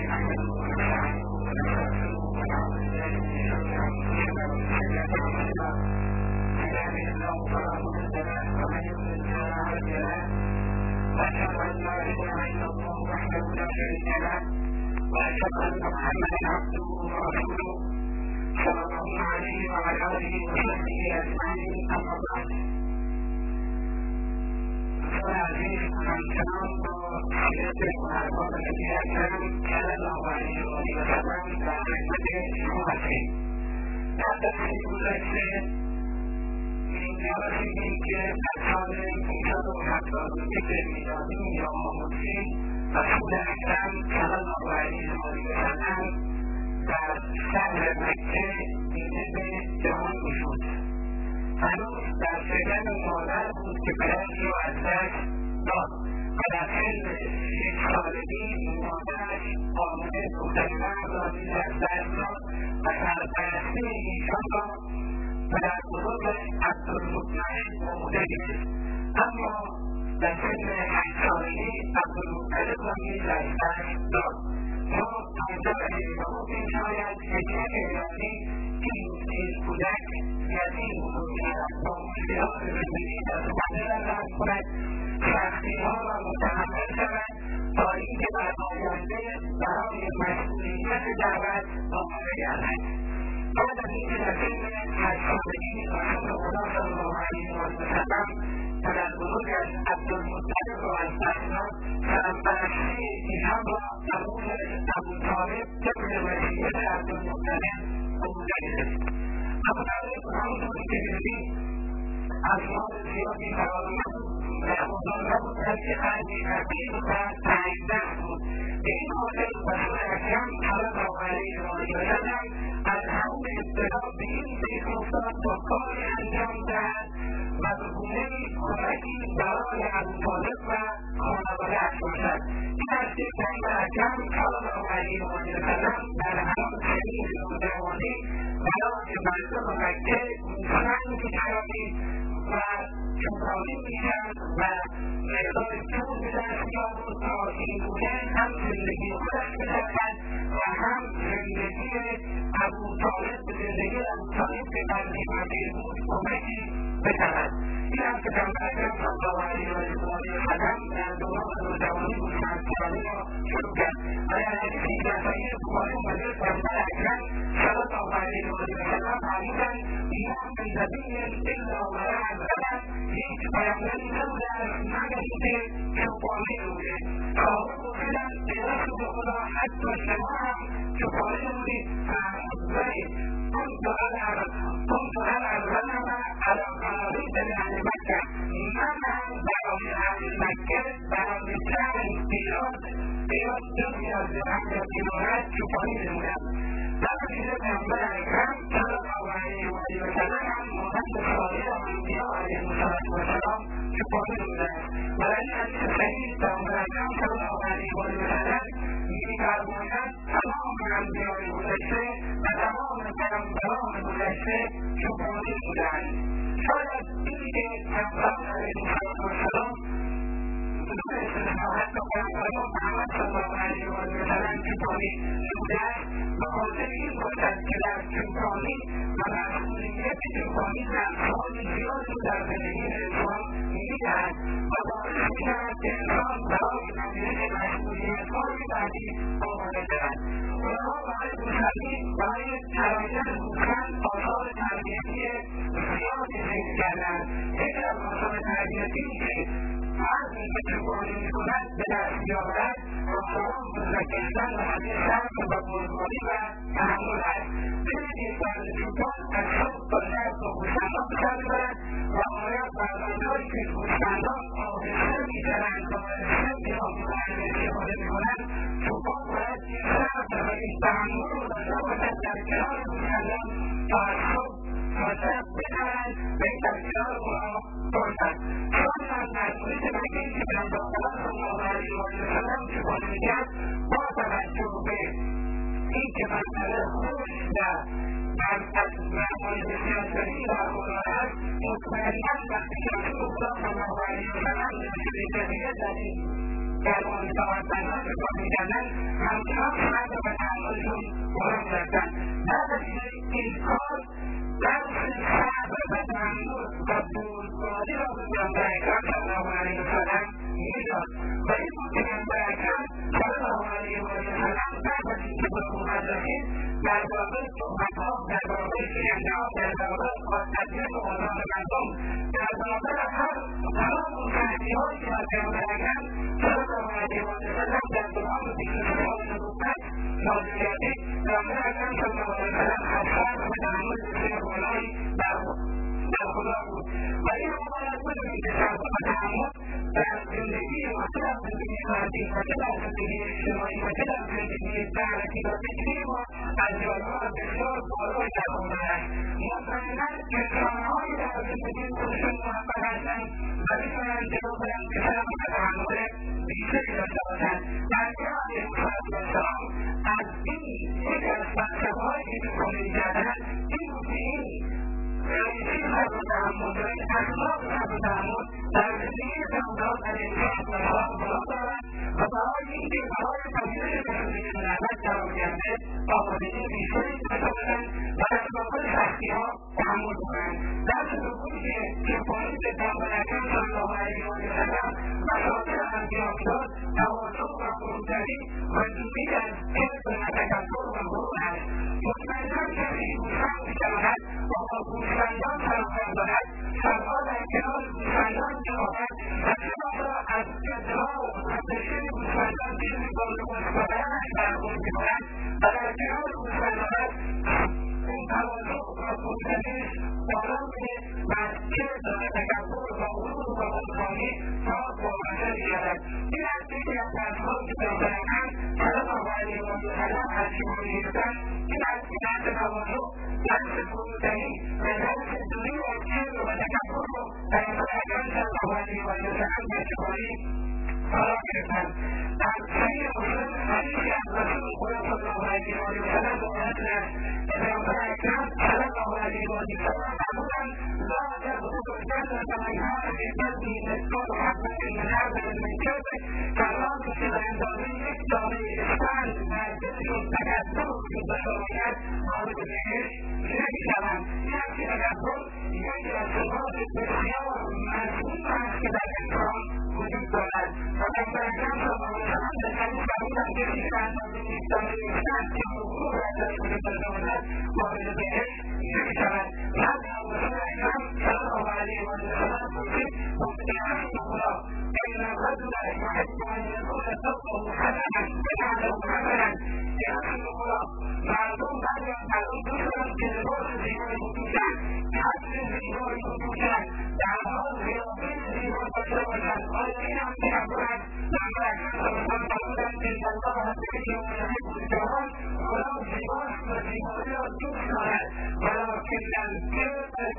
وأشهد أن محمدا عبده ورسوله صلى الله عليه وعلى آله وصحبه أجمعين. أما بعد، فهذه الكلام وسيرة الصحابة الذين كانوا صلى الله عليه وسلم كخدمة أمته. لا تحسب الأشياء من جرسه كأصحاب الكتاب حتى ذكر الميلادي يوم مسلم رسول اکرم صلی الله علیه وسلم در شهر مکه دیده به جهان میشد. هنوز در شکم مادر بود که پدرش را از دست داد و در سن 6 سالگی مادرش آمده دختران را نیز از دست داد و سرپرستی ایشان را پدر بزرگ عبدالمطلب عهده گرفت. اما در سن 8 سالگی عبدالمطلب را نیز از دست داد. ما آنجا اشتباه می‌شاید حکمت الهی این کودک یتیم بزرگ‌شود، با مشکلات زندگی دست‌وپنجه رفت کند، سختی‌ها را متحمل شود تا اینکه در آینده برای مسئولیت دعوت آماده گردد. بعد از اینکه در سن 8 سالگی رسول خدا صلی الله علیه وسلم پدر بزرگش عبدالمطلب را از دست داد، سرپرستی ایشان را ابوطالب طبق وصیت عبدالمطلب عهده گرفت. ابوطالب همونطور که دیدید از مال زیادی فراوان و بزرگ نبود، بلکه خرجی خفیف و تنگدست بود. به این خاطر رسول اکرم صلی الله علیه وسلم از همون ابتدا به این فکر افتاد تا کاری انجام دهد و به گونه‌ای کمکی برای ابوطالب و خانواده‌اش باشد. این است که پیامبر اکرم صلی الله علیه وسلم در همان سنین نوجوانی برای مردم مکه گوسفند می‌خرید و چوپانی می‌کرد و مقدار پول به دست می‌آورد تا اینگونه هم زندگی خودش بسازد و هم زندگی ابوطالب به زندگی ابوطالب که قدری فقیر بود کمکی بشود. این هم که پیامبر اکرم صلی الله علیه وسلم در دوران نوجوانی گوسفندخواری را شروع کرد و در حدیثی در صحیح بخاری اومده پیامبر اکرم صلی الله علیه وسلم فرمودند ما من نبی الا ولها الغنم، هیچ پیامبری نبوده است مگر اینکه چوپانی بوده. صحابه پرسیدند ای رسول خدا حتی شما هم چوپانی بودید؟ فرمود بلی. كنت أنا الغنم على قراريط لأهل مكة. من هم برای اهل مکه برای چند پیاز دنیا زرنگ کنارت چوپانی نمودم. در نتیجه پیامبر اکرم صلی الله علیه وسلم هم مانند سایر انبیا علیهم السلام چوپانی نمودند. و در این حدیث صحیح پیامبر اکرم صلی الله علیه وسلم می‌فرمایند تمام انبیای گذشته و تمام پیامبران گذشته چوپانی بودند. شاید اینی که پیامبران علیهم السلام بدون استثنا حتی پیامبران محمد صلی الله علیه وسلم چوپانی بودند به خاطر این باشد که در چوپانی و مسئولیت چوپانی نقش‌های زیادی در زندگی انسان می‌دهد و باعث می‌شود که انسان برای پذیرش مسئولیت‌های بعدی آماده شود. اونها برای گوسفندی برای تربیت گوسفند آثار تربیتی زیادی ذکر کردند. یکی از آثار تربیتی که مردی که چوپانی می‌کند به دست می‌آورد آثاران بزرگ‌کردن و حدیث‌سرد و بزرگواری و تحمل است. ببینید فرد چوپان از صبح تا شب با گوسفندان به سر می‌برد و باید برداشت‌هایی که گوسفندان آهسته می‌زنند و آهسته بی‌آبرومند استفاده می‌کنند، چوپان باید این صبر و این تحمل رو داشته باشد در کنار گوسفندان تا از صبح تا شب بزنند و در کنار اونها باشد. چون از مسئولیت مکه‌ای که پیامبر صلی الله علیه وسلم چوپانی می‌کرد با توجه به اینکه مسئله خوش در معمول بسیار شدید برخوردار است، مطمئنا وقتی که رسول خدا صلی الله علیه وسلم به مسئله جدیدت در این در مصاحبت‌ها که کار می‌کردن همچنان صبر و تحملشون بالا می‌رفتن. بعد از این کار درس صبر و تحمل و بزرگواری را به پیامبر اکرم صلی الله علیه وسلم می‌داد و این بود که پیامبر اکرم صلی الله علیه وسلم بعد از اینکه به حکومت رسید در واقع صحبت‌ها در واقع شکنجه‌ها در واقع تضییق آزاد مردم در واقع تمام اون تحریم‌هایی که از پیامبر اکرم صلی الله علیه وسلم در دوران 23 سال نبوت نازل گردید پیامبر اکرم صلی الله علیه وسلم از صبر و تحمل بسیار بالایی در خدا بود و این رو باید بدونید که صبر و تحمل در زندگی ما چه در زندگی فردی و چه در زندگی اجتماعی و چه در زندگی دعوتی و فکری ما از جایگاه بسیار بالایی در آمده است. مطمئنا انسانهایی در زندگی خودشون موفق هستند و میتونند جلو برند که صبر و تحمل بیشتری داشته باشند. انبیا علیهم السلام از این یکی از فلسفه‌هایی که پیش‌بینی می‌کردند این بود که این ریشه صبر و تحمل و این اخلاق صبر و تحمل در زندگی پیامبران علیهم السلام بالا دارد و برای اینکه برای پذیرش مسئولیت نعمت قرار گرفته آمادگی بیشتری داشته باشند و در مقابل سختی‌ها تحمل کنند. در سلوکی که پایین پیامبر اکرم صلی الله علیه وسلم و سایر انبیا می‌داد تواضع و فروتنی و دوری از کبر و تکبر و غرور است. مطمئنا کسی گوسفند می‌شود و با گوسفندان سروکار دارد سرها در کنار گوسفندان می‌خواهد و چرا را از ادعا و متشکل گوسفندان چیزی با استفاده‌اش برخورد می‌کند و در کنار گوسفندانش اون تواضع و فروتنیش بالا می‌ره و از کبر و تکبر و غرور و خودخواهی پاک و بشر می‌گردد. این است یکی از درس‌هایی که پیامبر اکرم صلی الله علیه وسلم از شما می‌گفتند. این است که درس تواضع، درس فروتنی و درس دوری از کبر و تکبر رو پیامبر اکرم صلی الله علیه وسلم در شماری فرا گرفتند. در صحیح مسلم حدیثی از رسول خدا صلی الله علیه وسلم روایت است که پیامبر اکرم صلی الله علیه وسلم فرمودند لا تدخلوا الجنة من كان في قلبه مثقال حبة من خردل من كبر کلام که به اندازه یک دانه اسفند در دلشون تکبر وجود داشته باشد وارد بهشت نمیشوند. این است که تکبر یکی از صفات بسیار مذموم است که در انسان وجود دارد و پیامبر اکرم صلی الله علیه وسلم در حدیث فرمودند کسی که به اندازه یک دانه اسفند که غرور در دلش وجود داشته باشد وارد بهشت نمیشوند. بعد رسول اکرم صلی الله علیه وسلم پرسید مطمئن خدا إن الرجل يحب أن يكون ثوبه حسنا ويعلم حسنا يحسن خلق معلوم معلوم دوسرا که لباس زیبایی بپوشد حسن زیبایی بپوشد در حال قیافه زیبا داشته باشد. آیا این هم تکبر است؟ پیامبر اکرم صلی الله علیه وسلم فرمودند ان الله طیب یحب الجمال خدا زیباست و زیبایی را دوست دارد ولکن الکبر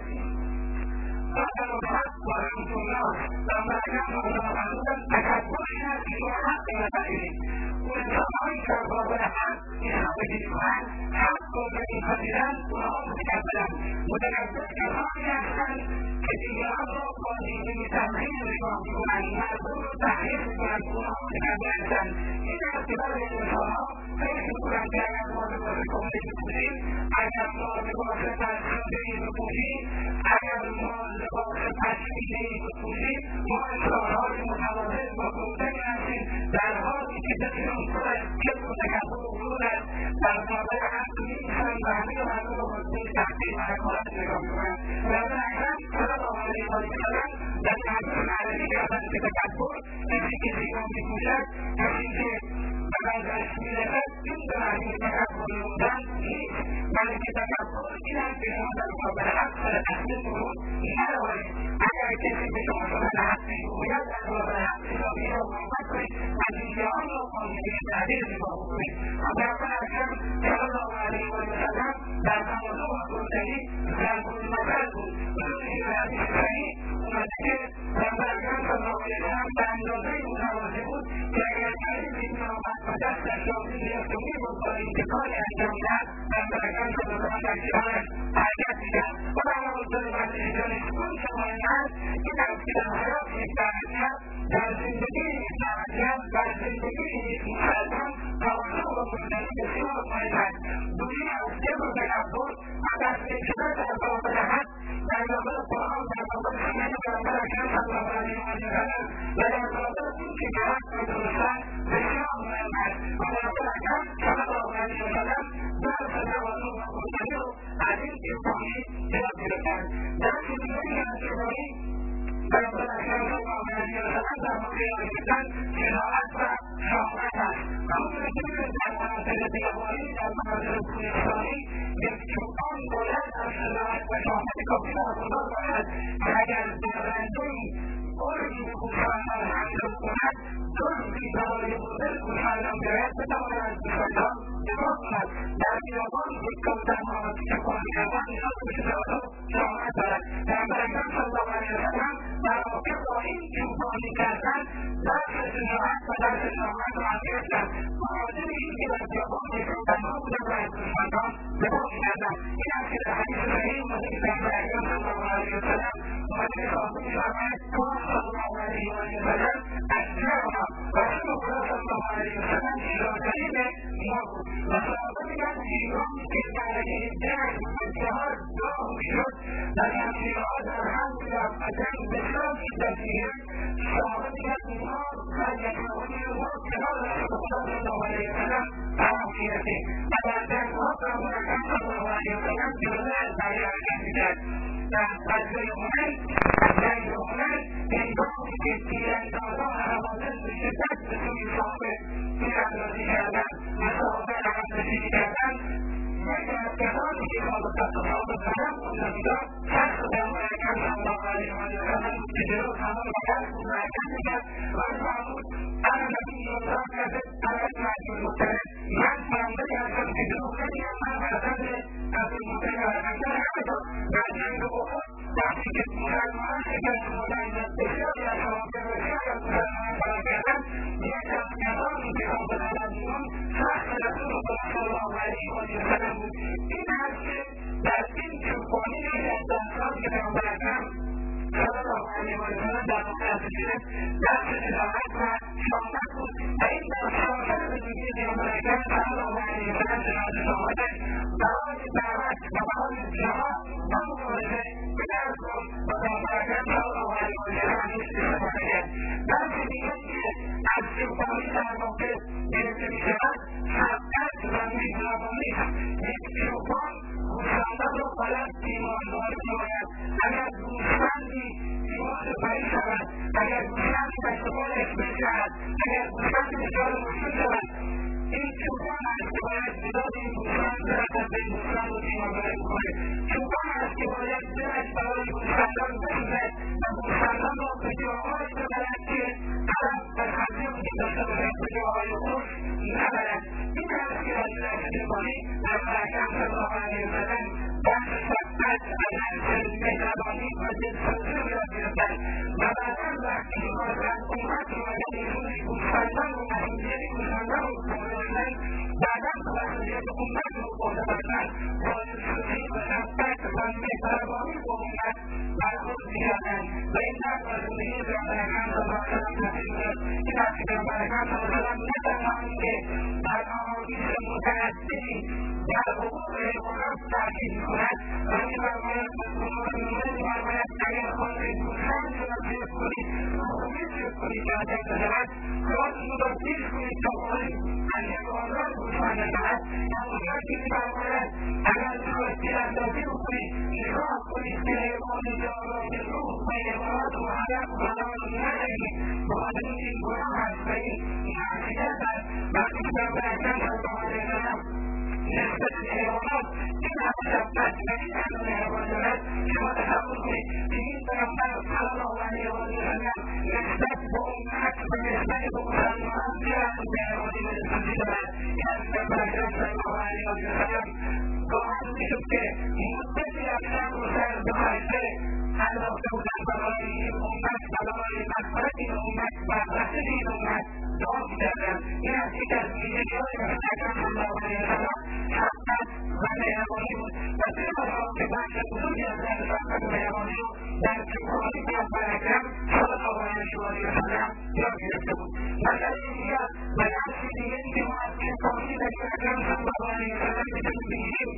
بطل الحق و رمز الناس. پیامبر اکرم صلی الله علیه وسلم تکبر این است که شما حق نپذیرید. اون انسانهایی که در برابر حق ایستادگی می‌کنند حق را نمی‌پذیرند اونها متکبرند. متکبر کسانی هستند که دیگران را با دیدگی تمرین نگاه می‌کنند مردم را تحقیر می‌کنند اونها متکبر هستند. این است که برای انسانها فکر می‌کنند که اگر ما لباس کهنه بپوشیم اگر ما لباس فرسوده‌ای بپوشیم اگر ما لباس پشمینه‌ای بپوشیم ما انسان‌های متواضع و فروتنی هستیم در حالی که دلشون پر از کبر و تکبر و غرور است در برابر حق می‌ایستند و همه مردم را با دید تحقیر و حقارت نگاه می‌کنند. پیامبر اکرم صلی الله علیه وسلم در حدیث معرفی کردند که تکبر کسی که زیبا می‌پوشد کسی که به نظرش می‌رسد این به معنی تکبر نمودن نیست بلکه تکبر این است که شما در برابر حق سر تحقیر فرود نروید. اگر کسی به شما سخن حق می‌گوید در برابر حق حسابی را محبت کنید و دیگران را با نگاه تحقیر نگاه بکنید. پیامبر اکرم صلی الله علیه وسلم در تواضع و فروتنی ضرب المثل بود. بدونید که در حدیث صحیح اومده که پیامبر اکرم صلی الله علیه وسلم به اندازه متواضع بود که اگر کسی می‌آمد و دستش را می‌گرفت و می‌برد با اینکه کاری انجام می‌دهد پیامبر اکرم صلی الله علیه وسلم در کنارش حرکت می‌کرد و برآورده مسیح دانشجویان شمایل است این است که در حیات یک دعوتگر در زندگی یک دعوتگر و در زندگی یک مسلمان توجه و مدنی بسیار مهم دوری از جبر و تکبر و دستگیر شدن در باب دهد در مقابل قرآن در مقابل سنت پیامبر اکرم صلی الله علیه و سلم و در مقابل این که درست و درستن بسیار مهم است و پیامبر اکرم صلی الله علیه و سلم درس تواضع و مدنی رو از این جبرانی یاد گرفتند. درس دیگری از جبرانی پیامبر اکرم صلی الله علیه و سلم در مورد یاد گرفتن شجاعت و شهامت است. همونطور که می‌دونید در مناطق بیابانی در مناطق کوهستانی یک چوپان باید از شجاعت و شهامت کافی برخوردار باشد که اگر درنده‌ای برجی به گوسفندان حمله کند دزدی برای بردن گوسفندان بیاید بتواند از گوسفندان دفاع کند. در بیابان یک کبوتر مهاجم که کار کردن نیاز به شجاعت و شهامت دارد. پیامبر اکرم صلی الله علیه و سلم در واقع با این چوپانی کردن درس شجاعت و درس شهامت را گرفتند. مهاجم این که در بیابان یک تنها بودند و از گوسفندان دفاع می‌کردند. این است که در حدیث صحیح اومده که پیامبر اکرم صلی الله علیه و سلم اومده خواهد می‌فرماید صلی الله علیه و سلم اشجعنا رسول خدا صلی الله علیه و سلم شجاع‌ترین ما بود و صحابه میگن هنگامی که درجه جنگ و جهاد داغ می‌شد و شمشیرها در هم می‌رفت و جنگ بسیار شدت می‌گرفت صحابه میگن اینها در یکمانی ما کنار رسول خدا صلی الله علیه و سلم قرار می‌گرفتیم و در جنگ‌ها پیامبر اکرم صلی الله علیه و سلم جلوه از بقیه حرکت می‌کرد. در غزوه هنین هنگامی که تیراندازان حوادث به شدت به سوی صحابه تیراندازی کردند و صحابه عقب‌نشینی کردند یک از کسانی که کالبد صحابه قدم بودند شخص پیامبر اکرم صلی الله علیه و سلم بود که جلو همه مقصد بود و حرکت میکرد و فرمود انا نبی الله کذب انا اسماعیل المطلب من پیامبری هستم که دروغ نمیگم من فرزند عبدالمطلب هستم همینطور در جنگ احد وقتی که مسلمانان شکست خوردند و بسیاری از صحابه بسیاری از مسلمانان فرار کردند یک از کسانی که را بزدند بیرون شخص رسول خدا صلی الله علیه و سلم بود. این هست که در این چوپانی یکی از درس‌هایی که پیامبر اکرم صلی الله علیه و سلم در واقع ازش گرفت درس شجاعت و شهامت بود و این درس شامل زندگی پیامبر اکرم صلی الله علیه و سلم شجاعت و شهامتش برای دعوت و برای جهاد و مبارزه به درس بود و پیامبر اکرم صلی الله علیه و سلم ازش استفاده کرد. درس دیگری که از چوپانی در واقع گرفته می‌شود شفقت و مهربانی است. یک چوپان گوسفندان را باید تیمارداری نماید. اگر گوسفندی بیمار پری شود، اگر گوسفندی دست و پایش بشود، اگر گوسفندی دچار مشکل شود، این چوپان است که باید مداد این گوسفند برسد به این گوسفند و تیمارداری بکنه. چوپان است که باید دلش برای گوسفندان بسوزد و گوسفندان را به جاهایی ببرد که علم و خرجه وجود داشته باشد، به جاهای خوش نبرد. این است که در درس چوپانی پیامبر اکرم صلی الله علیه و سلم درس شفقت و درس مهربانی و دلسوزی را یاد گرفتند و بعدا وقتی که از امت اومدن روی گوسفندان و مسئولیت گوسفندان رو برداشتند بعدا مسئولیت امت رو برده باشند با دلسوزی و شفقت و مهربانی با امت برخورد می‌کردند و این درس از زندگی پیامبر اکرم صلی الله علیه و سلم نصیب شد. این است که پیامبر اکرم صلی الله علیه و سلم نه تنها اینکه در احادیث متعددی در حقوق حیوانات تاکید می‌کند و می‌فرماید اگر خواهید گوسفند را جلب کنید خودت جلب کنید که آتش بزند خودتون را دیر کنید تا خواهید از حیوانات گوسفند بزند همونجا که می‌فرماید اگر می‌خواهید تیراندازی بکنید نگاه کنید که حیوان دارای روح و حیوانات مهلک و حلال ندهید بخاطر اینکه این گناه هست و این معصیت است. وقتی که پیامبر اکرم صلی الله علیه و سلم نسبت به حیوانات این همه شفقت و این همه مهربانی دارد شما تصور کنید که این پیامبر صلی الله علیه و سلم نسبت به امت و نسبت به مسلمانان چقدر مهربانی و دلسوزی دارد. این از پیامبر اکرم صلی الله علیه و سلم گاهن میشد که مدتی از شب و سر بخشته انداخته بودند برای این امت و برای مغفرت این امت و رسل این امت دعا می‌کردند. این از یک از ویژگی‌های پیامبر اکرم صلی الله علیه و سلم شفقت و مهربانی بود و طبق که بخش بزرگی از این شفقت و مهربانی رو در چوپانی پیامبر اکرم صلی الله علیه علیه و آله وسلم یاد گرفته بود. مسئله دیگر و درس دیگری که ما از این توحید نبی اکرم صلی الله علیه وسلم میتونیم بگیریم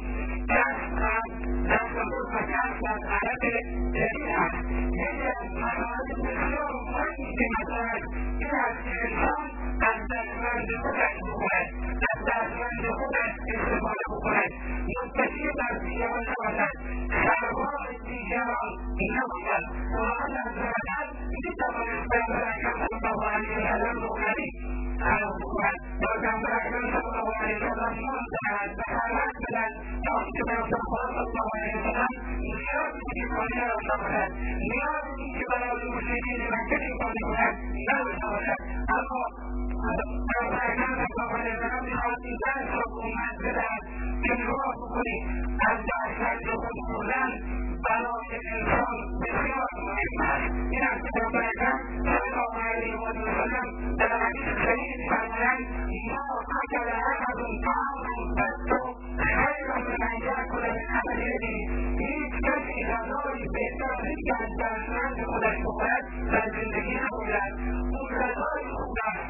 دست بود و درس از عدد دلیل هست. یکی از موارد بسیار مهمی که مطرح است این است که انسان از دستمند خودش بخورد، از دستمند خودش استفاده بکند، متکی بر دیگران نباشد، سرباز دیگران نباشد. خداوند عزوجل میتوانست پیامبر اکرم صلی الله علیه وسلم رونقی قرار بکند و پیامبر اکرم صلی الله علیه وسلم نام دهد و خلوت بدهد تا آنکه پیامبر خدا صلی الله علیه وسلم نیاز دیگرانی نداشته باشد، نیاز اینکه برای مشرکین مکه چیکار کند نداشته باشد. اما پیامبر اکرم صلی الله علیه وسلم میخواهد این درس را به امت بدهد که نگاه بکنید از دستمند خود خوردن برای انسان بسیار مهم است. این است که پیامبر اکرم صلی الله علیه و سلم در حدیث صحیح می‌فرمایند ما اکل احد طعاما قط خیر من ان یأکل من عمل یده. هیچ کسی غذایی بهتر از اینکه از دستمند خودش بخورد در زندگی نبوده. اون غذای خوب است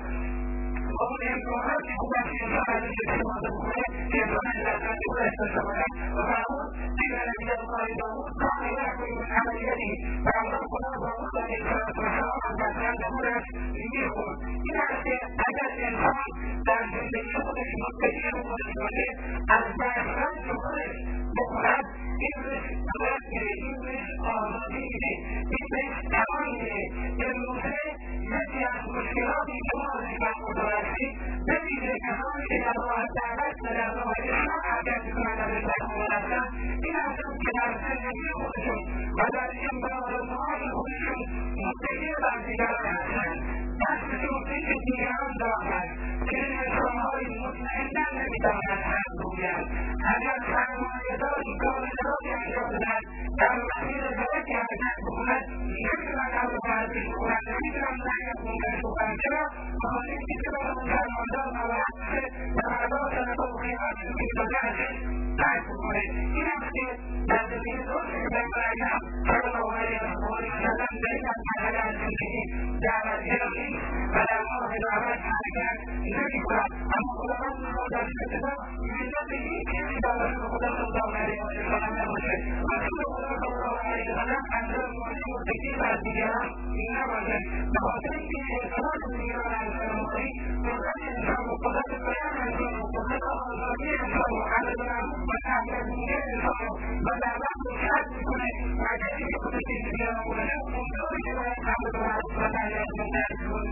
و اون امکاناتی خوب است که انسان از این استفاده بکنه که انسان از دستمند خودش داشته باشد. و فرمود قیل نبی الله داود کان یأکل من عمل یده. پیامبر خدا داود علیه السلام از دستمند خودش میخورد. این است که اگر انسان در زندگی خودش متکی خودش باشه از دستمند خودش بخورد این رزق قدرت میره، این رزق آزادی میره، این رزق توان میره. امروزه یکی از مشکلاتی که ما از این برخوردار هستیم ببینید کسانی که در راه دعوت و در راه اسلام حرکت میکنند از این برخوردار هستند این هستند که در زندگی خودشون و در امرارات خودشون متکی بر دیگران هستند، دستشون پیش دیگران دارند که این انسانهای مطمئنا نمیتوانند حق بگویند. اگر سرمایه‌داری کارگزاری انجام بدهد در مسیر درستی حرکت بکند نمیتونند حق ورزش بکنند، نمیتونند نقد بکنند بکنند. چرا؟ بخاطر اینکه چرا اون سرمایه‌دار نباید باشه و فردا صدقه و خیرات که داده ازش درک بکنه. این است که در زندگی درستی که پیامبر اکرم صلی الله علیه وسلم در این مرحله از زندگی دعوتگرا نیست و در راه دعوت حرکت نمی‌کند. اما خداوند می‌خواهد در این ابتدا ملت هیچ کسی در رسول خدا صلی الله علیه وسلم نباشه. رسول خدا صلی الله علیه وسلم اندر متکی بر دیگران نباشد. به خاطر اینکه اعتماد دیگران انسان مقری قدرت انسان و قدرت بیان انسان و قدرت آزادی انسان و عدد معروف و نهی از منکر انسان و دعوت رو شرط میکنه و کسی که خودش دیگران بکنه اونطوری که باید عدد معروف و نهی از منکر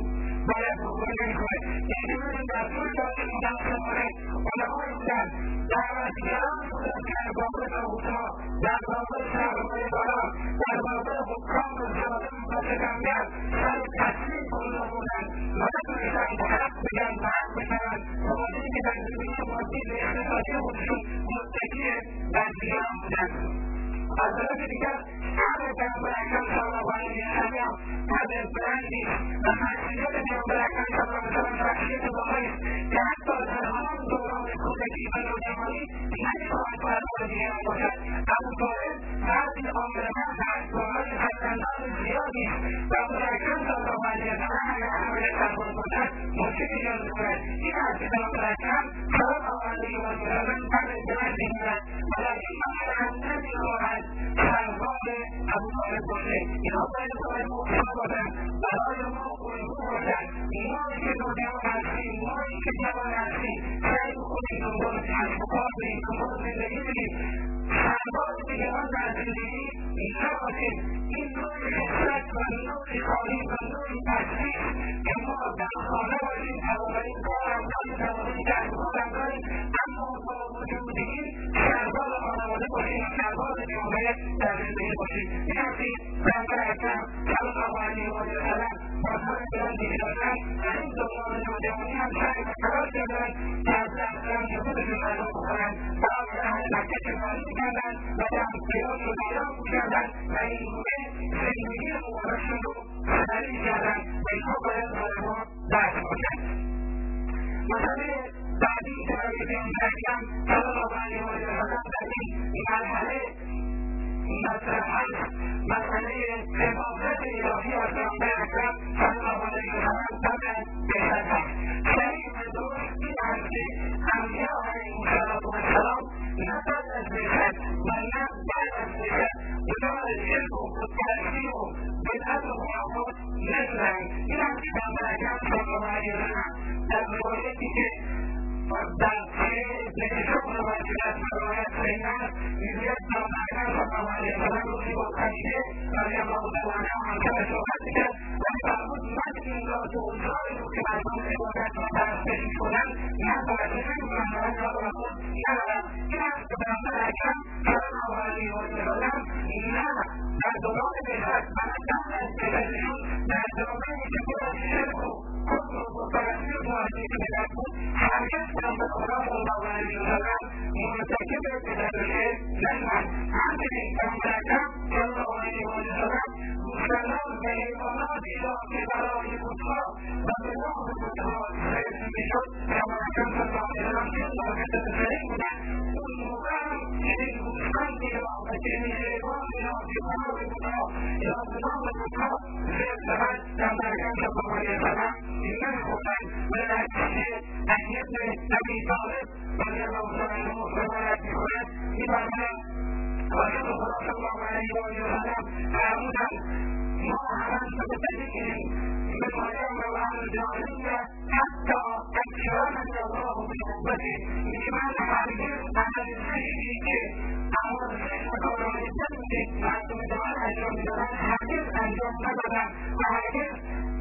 باید بکنه نمیکنه. یعنی ببینید در طول تاریخ مسلمانه علمای بودن دعوتگران بودن که در بابل طاغوت‌ها، در بابل سرمایه‌داران، در بابل حکام و ظالم و ستمگر سر تسلیم خود بودن و نتونستند حق بگن و حق بشنوند به خاطر اینکه در زندگی مادی و اقتصادی خودشون متکی بر دیگران بودند. از طرف دیگر امر پیامبر اکرم صلی الله علیه وسلم امر بلندی و شخصیت پیامبر اکرم صلی الله علیه وسلم شخصیت واقعی است که حتی در همان دوران کودکی و نوجوانی نمیخواهد برابر دیگران باشد. ابوطالب مردی عاملمند است، دارای فرزندان زیادی است. پیامبر اکرم صلی الله علیه وسلم اگر حمله سرباز باشد مشکلی ایجاد میکند. این است که پیامبر اکرم صلی الله علیه وسلم امر بلندی میکند و در این مرحله نمیخواهد سرباز ابوطالب باشه. اینها باید مؤمن باشند، برای ما الگو باشند. مایی که نوجوان هستیم، مایی که جوان هستیم سعی بکنیم دنبال کسب و کار بریم، دنبال زندگی بریم، سرباز دیگران در زندگی نباشیم. این نوع خصلت و نوع تعلیم و نوع تشخیص که ما در خانه باشیم توانایی کار انجامیم، توانایی کسب و کار انجامیم، اما با وجود این سرباز خانواده باشیم، سرباز جامعه در زندگی باشیم. این است که پیامبر اکرم صلی الله علیه وسلم بازهای بلندی داشتن و این دوران نوجوانی هم سعی و تلاش کردند که از دستمند خودشون غذا بخورند. برای اهل مکه چکاری میکردند و دستگیرات رو دریافت میکردند و این گونه زندگی مبارکشون رو سپری میکردند و اینها باید برای ما درس باشد. مسئله بعدی که برای پیامبر اکرم صلی الله علیه وسلم در این مرحله مطرح هست مسئله حفاظت الهی از پیامبر اکرم صلی الله علیه وسلم طبعا بهتر هست. صحیح و درست این هست که انبیا علیهم السلام نه بعد از بعثت و نه بعد از بعثت دچار شرک و بتپرستی و بدعت و خرافات نشدند. این هم که پیامبر اکرم صلی الله علیه وسلم در روایتی که در نکشف روایت روایت صحیح است میگوید پیامبر اکرم صلی الله علیه وسلم روزی با خدیجه رضی الله تعالی عنها همسرش صحبت میکرد و میفرمود من این را که اوضاعی رو که مردم عبادت و پرستش میکنند من پرستش نمیکنم و را خود ندارم. این است که پیامبر اکرم صلی الله علیه وسلم نه در دوران بعثت و نه قبل از بعثتشون در زمانی که پر از شرک و کفر و بتپرستی و معاصی بدعت بود هرگز پیامبر خدا صلی الله علیه وسلم مرتکب بدعت و شرک نشدند. همچنین پیامبر اکرم صلی الله علیه وسلم گوسفندان و حیواناتی را که برای بتها و به نام بتها صرف میشد پیامبر اکرم صلی الله علیه وسلم چون واقعیت صحیح بودند اون موقع هم چنین گوسفندی را و چنین حیوانی را که برای بتها یا به نام بتها صرف شود پیامبر اکرم صلی الله علیه وسلم نمیخوردند. و در نتیجه علی بن ابی طالب رضی الله تعالی عنه روایت میکند میفرماید رسول خدا صلی الله علیه وسلم فرمودند ما همه مبتدئین بپایان و الجاهلیه حتی اکرمنی الله بحبته. میگه من هرگز عمل زشتی که اعمال زشت و کارهای بدی که مردم جهان انجام میدادند هرگز انجام ندادم و هرگز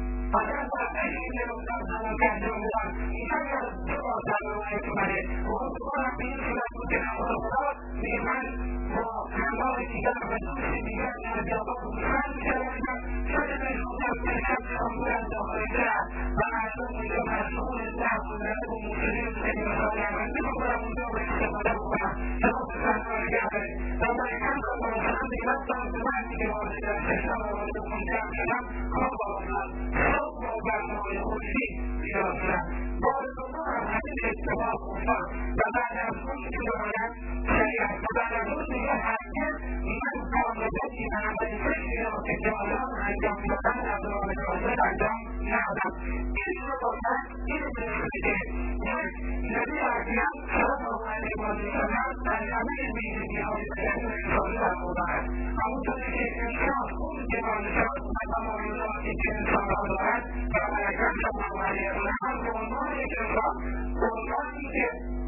اگر با عشق نمودم زمان که انجام میدم اینجا یا دو بار در روایت اومده و اون دوبارم به این صورت بود که رسول خدا میگه من با همراه دیگر و دوست دیگر در بیابان گوسفند می‌چرانیدم شده بهشوندم که شب شامگویم داخل در و مردم اونجا مشغول لهو و لعب و موسیقی و خیلی مسائلی هستند می‌خواستم اونجا به استفاده بکنم شما گوسفند را نگه دارید. پیامبر اکرم صلی الله علیه وسلم دیگه رفتم به وقتی که وارد در چشمم و وارد خونه جمع شدم خواب آمد صبح با برنامه خورشی بیدار شدم. بار دوم هم همین اتفاق افتاد و بعد از اون که باید شریعت و بعد از اون دیگه هرگز من کار بدی و عمل زشتی را که جاهلان انجام میدادند از راه راست انجام ندادم. این رو باید این بشه که یک نبی اکرم صلی الله علیه وسلم در همه ویژگی‌های بدنی و انسانی برخوردارد. همونطوری که انسان اون جوانشان و تمایلاتی که انسان را دارد پیامبر اکرم صلی الله علیه وسلم به عنوان یک انسان به عنوانی که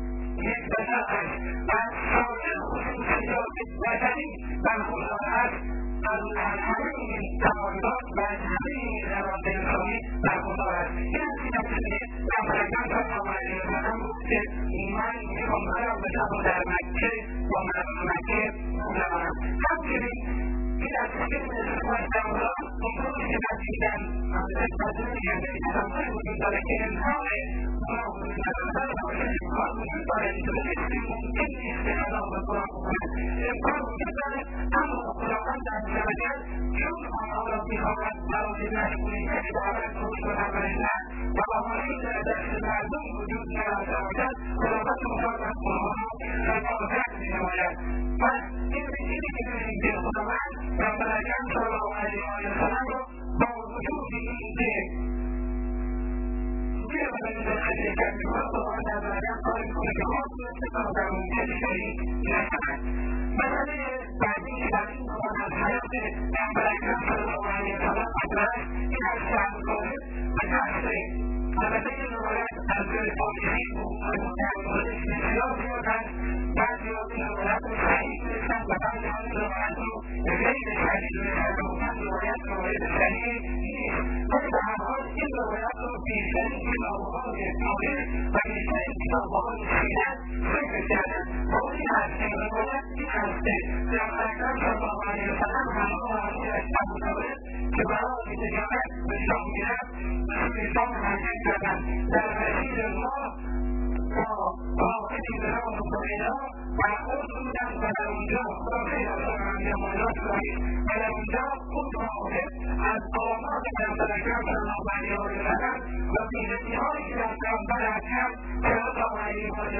یک بشر است و از سایر خصوصیات بشری برخوردار است از همه این تمایلات و از همه این روابط انسانی برخوردار است. این از این نتیجه پیامبر اکرم صلی الله علیه وسلم گفت که من میخوام برم بشم و در مکه با مردم مکه بمانم. همچنین این از فکر استفاده دولان امروزی که نتیجن استفاده میگرده تمام وجود داره که انسان گناه وجود نداره و امکان وجود داره که ممکن نیست که الله به گناه بکنه امکان وجود داره اما خداوند عزوجل چون آنها را میخواهد برای مشغولی که دارد روش و نبرشن و آنهایی در دست مردم وجود ندارد خداوند میخواهد از آنها حفاظت مینماید. پس این چیزی که می‌بینیم که خداوند پیامبر اکرم صلی الله علیه وسلم را با وجود اینکه توی بدن حقیقت می‌کند خداوند عزوجل کاری می‌کنه که ما استفاده در ممکن شریک نشود. مسئله بعدی که در این زمان از حیات پیامبر اکرم صلی الله علیه وسلم مطرح است این از شهر طالب و تحصیل. البته این روایت از تاریخی بود و در موردش بسیار زیاد است. بعضی‌ها این روایت رو صحیح دونستند و بعضی‌ها این روایت رو غیر صحیح دونستند و گفتند روایت صحیح نیست. ولی به هر حال این روایت رو بیشترین کتاب‌های تاریخ و بیشترین کتاب‌های سیرت ذکر کردند و این هست که روایت این هست که پیامبر اکرم صلی الله علیه وسلم همراه همسرش ابوطالب که برای تجارت به شام می‌رفت به شام حرکت کردند. در مسیر راه راهی به نام هریره برخورد بودند و در اونجا خدا خیلی مالات دارید و در اونجا اون راهب از آماد پیامبر اکرم صلی الله علیه وسلم و ویژگی‌هایی که در پیامبر اکرم صلی الله علیه وسلم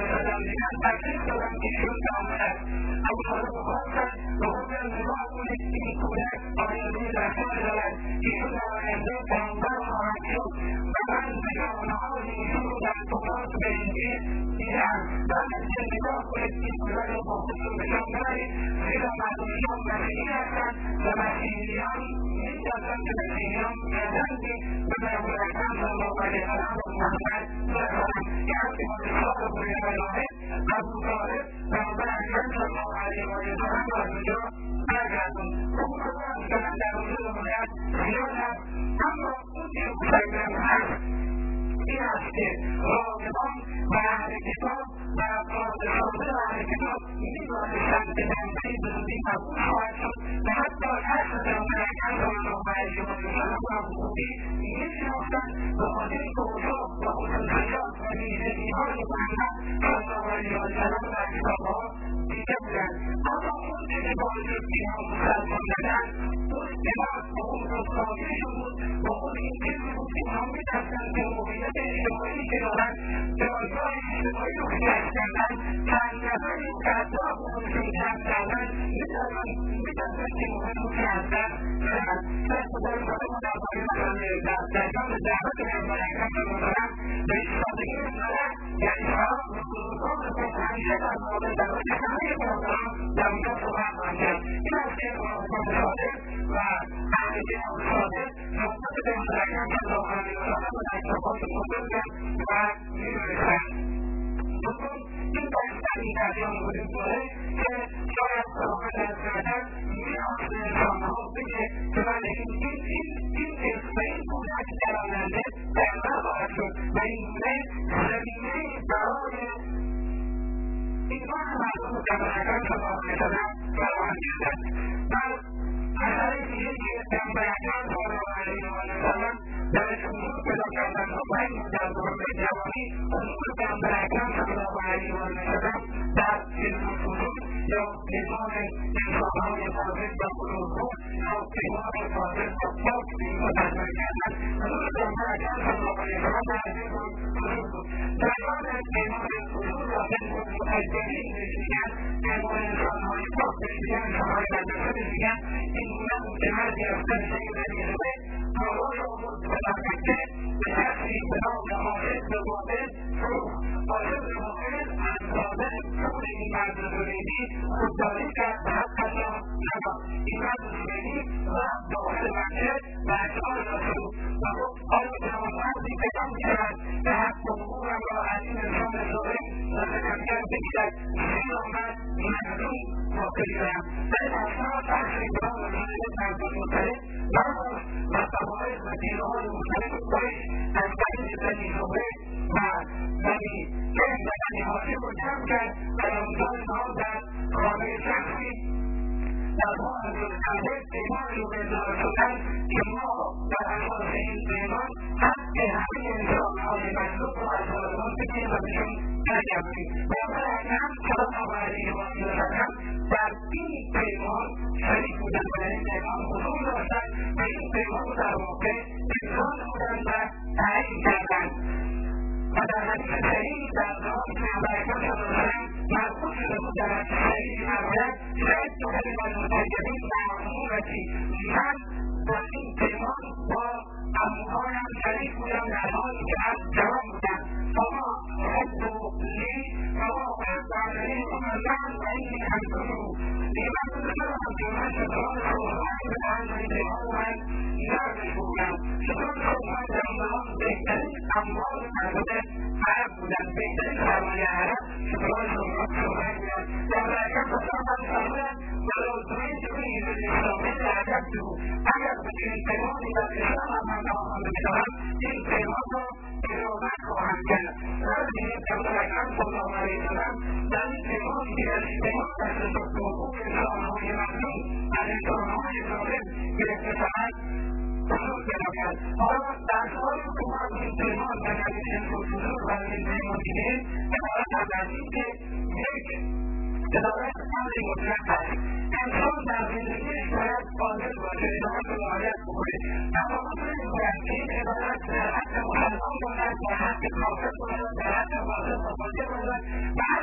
دیگر تکلیف دادن که ایشون تمامت اما حالا بخواستن به خود نگاه کنید که این کودک آینده در کار دارد ایشون در آینده پیامبر خواهد شد و من بیانهای ایشون رو در تورات به انجیل دیدم بعد از که نگاه کنید این کودک رو با خودتون نشان بدهید زیرا مردم شام مسیحی هستند و مسیحیان می‌دانند که مسیحیان گردنی به پیامبر اکرم صلی الله علیه و آله و محمد برسانند که وقتی ما بسیار بوده علامه ابو طالب پیامبر اکرم صلی الله علیه و آله و محمد را از اونجا برگردون اون کدام که من در وجود باید زیاد هست اما اون که مسلم هست این است که راغبان و اهل کتاب و افراد شاده و اهل کتاب می‌دانستند که پیامبری به زودی مقبول خواهد شد و حتی اصل پیامبر اکرم صلی الله علیه و آله و سلم را به خوبی می‌شناختند به خاطر اوصاف و خصوصیات و ویژگی‌های محمد صلی الله علیه و سلم در کتاب‌ها دیده بودند اما اون که باعث اینها مسلمان شدند اون اتباع به خود رسواییشون بود به خود این چیزی بود که اینها می‌دانستند که موقعیت اجتماعی که دارند جایگاه اجتماعی رو که کشف کردند چند نفری که حتی خودشون کشف کردند می‌دانستند که مهم که هستند شاید خدای خدا ما در جان دعوت پیامبر اکرم صلی الله علیه و سلم به ایستادگی مسئله یعنی شراب و خصوصات خود همیشه در مورد دعوت همه پیامبران در اونجا صحبت خواهند کرد این است که خداوند صادق و اهل کتاب صادق نسبت پیامبر اکرم صلی الله علیه و سلم و در کتابات بزرگند و می‌نویسند دوم این بحث این جریان وجود داره که شاید خداوند عزوجل می‌خواست به انسان‌ها بگه که بله این اسم این کودک در آینده پیامبر خواهد شد و این گونه زمینه‌ای برای ایمان مردم پیامبر اکرم صلی الله علیه و سلم فراهم شدند و اثر دیگه که پیامبر اکرم صلی الله علیه و سلم درش حضور پیدا کردن و باید در دوران جوانی حضور پیامبر اکرم صلی الله علیه و سلم در علم الفضول یا نظام انسان‌های فاضل و بزرگوار یا پیمان فاضل و پاک به اینها تجربه کردن حضور پیامبر اکرم صلی الله علیه و سلم در علم الفضول بود جریان پیمان الفضول و علم المتجرین بهش میگن پیمان انسان‌های پاک بهش میگن انسان‌های مدرسه بهش میگن این گونه بود که هر گرفتن شکل دیگه کارهای آورد به نفکه به کسی به نام عاشق به باطل فروخت عاشق به باطل از باطل خود این مرد زبیدی خودداری کرد و حقش را نداد این مرد زبیدی رفت داخل مسجد و اشعار را شروع و گفت آیا جوانمردی پیدا می‌شود که حق و حقوقم را از این انسان ظالم و ستمگر بگیرد زیرا من مظلوم واقع شدم ولی اثناء تحصیل برای وسیله مردم مختلف برداشت و قواعد و دیرهای مختلف قریش از بین بنی زهره و بنی کند و بنی هاشم رو جمع کرد و اونجا اینها در خانه شخصی در ما حضرت پیمانی رو اظهار شدن که ما در اساس این پیمان حق همه انسانهای مخلوق رو از ظالمان بگیریم و بهشون برگردیم پیامبر اکرم صلی الله علیه و آله و سلم در این پیمان شریک بودن و در این پیمان حضور داشتن و این پیمان رو در واقع اجرا نمودن و تعیین کردن و در حدیث صحیح در زمان پیامبر اکرم صلی الله علیه و سلم مربوط شده بود در حدیث صحیح می‌فرماید شهدت للمتجرین معمورتی من در این پیمان با عموهایم شریک بودم در حالی که از جوان بودم فما حبوا لی فما احبابنی من و اینی همچنو دیگه من دوست دارم که من شطران صحبانی به تنظیم پیمان من نرمش بودم شطران صحبان در این زمان بهترین اموال مربوطه عرب بودن بهترین سرمایه عرب شطران صحبانی بودن در برکت صحبان فرمودن ولو تريدني بالإسلام لأعجبته أجب من پیمانی در اسلام من ناخوانده می‌دارم این پیمان را اجابت خواهم کرد ولی پیامبر اکرم صلی الله علیه و سلم در این پیمانی که از این پیمان دست شد حقوق انسان‌های مظلوم از انسان‌های ظالم گرفته شود حضور پیدا کرد حالا درس‌های که ما از این پیمان و در این الفضول و از این پیمان دیدیم عبارت از این که یک دلالت امری مطلق است انسان در زندگیش باید قادر باشه اطاعت و رعایت بکنه اما مطلق باید که این عبارت در حق مسلمان باشد در حق کافر باشد در حق فاسق و فاجر باشد و هر که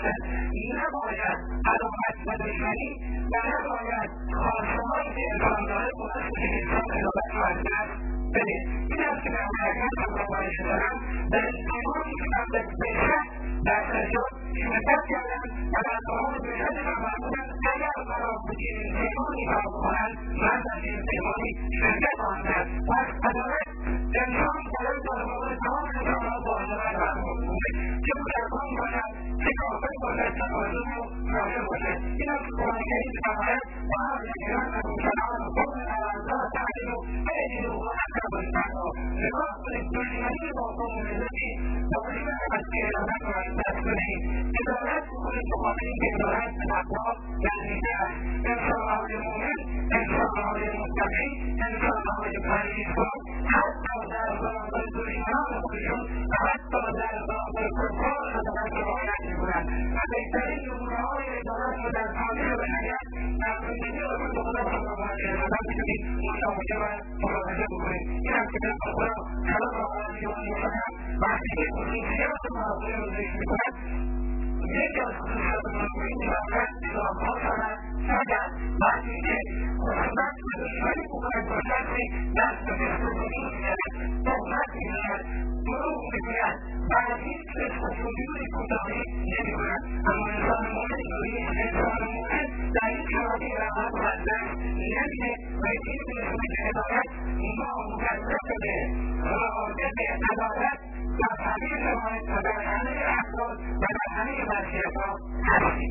باشد. نباید عداوت و دشمنی و نباید خواسته‌هایی که انسان داره باعث که انسان عدالت رو از دست بده. این است که در حقیقت من باورش دارم در پیمانی که من به بهشت در سجاد شرکت کردم و در کاران بهشت من فرمودند اگر قرار بود که این پیمانی را بکنند من در این پیمانی شرکت خواهم کرد. پس عدالت انسان باید در مورد تمام انسانها با عدالت برخورد کنه، چه مسلمان باشد چه کافر باشد چه مظلوم و کافر باشد. این است که قرآن کریم می‌فرماید و هر نگران از مسلمان قوم اعضا تعلیم و اعجل و اقرب التقوا. نگاه کنید دشمنی با قوم ملتی باعث نشود که عدالت را از دست بدهید. عدالت بکنید بخاطر اینکه عدالت به تقوا نزدیکتر است. انسان‌های مؤمن، انسان‌های متقی، انسان‌های پرهیزکار حتی در برابر دشمنان خودشون و حتی در برابر کفار عدالت را رعایت می‌کنند و بهترین نمونه‌های عدالت را در تاریخ بشریت در زندگی رسول خدا صلی الله علیه وسلم می‌تونید مشاهده و ملاحظه بکنید. این است که در خدا صلی الله علیه وسلم وقتی که خصوصیات مناظر رو ذکر می‌کند یکی از خصوصیات مناظر می‌باشد اضافه‌ها شود فقط وقتی که خصوصیت و دشمنی بکند با شخصی دست به دستگیری می‌زند، تهمت می‌زند، دروغ می‌گوید و از هیچ فسق و فجور کوتاهی نمی‌کند. اما انسان مؤمن انسان مؤمن در این شرایط رحمت و از دست نمیده و این می‌رسونه که عدالت ما مکلف به رعایت عدالت در همه شرایط و در همه افراد و در همه وضعیت‌ها هستیم.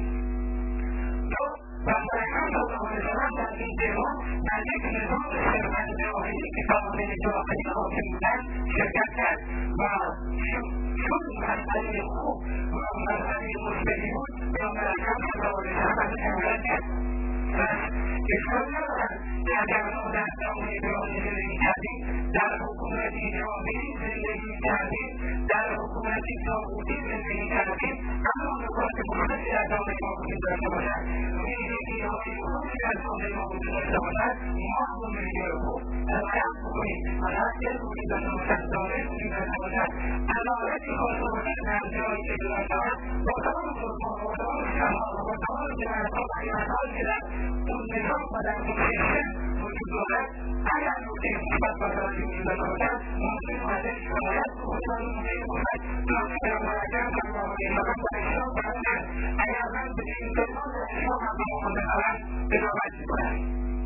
پیامبر صلی الله علیه وسلم در این پیمان در یک نظام ثروت جاهلی که سامانه جاهلی حاکم بودند شرکت کرد و چون مسئله خوب و مسئله مثبتی بود پیامبر اکرم صلی الله علیه وسلم ازش حمایت کرد. پس اشکال ندارد که اگر ما در جامعه جاهلی زندگی کردیم، در حکومتی جاهلی زندگی کردیم، در حکومتی طاغوتی زندگی کردیم، اما نکات مثبتی در جامعه ما وجود داشته باشد، ویژگی‌های خوبی در جامعه ما وجود داشته باشد، ما اون ویژگی‌های خوب رعایت بکنیم و حقیقت وجود داشته باشد، دانش وجود داشته باشد، عدالتی خواسته باشد در جایی که وجود دارد، با تمام ظلم‌ها و تمام شرها و با تمام جنایت‌ها و خیانت‌هایی که در اون نظام و در اون سیستم وجود دارد، اگر نکته مثبت و ضروری وجود داشته باشد ممکن ازش حمایت بکنیم و ممکن باشد چنانکه پیامبر اکرم صلی الله علیه وسلم در اسلام فرمودند اگر من به این پیمان و اسلام همراه بشوم اجابت می‌کنم.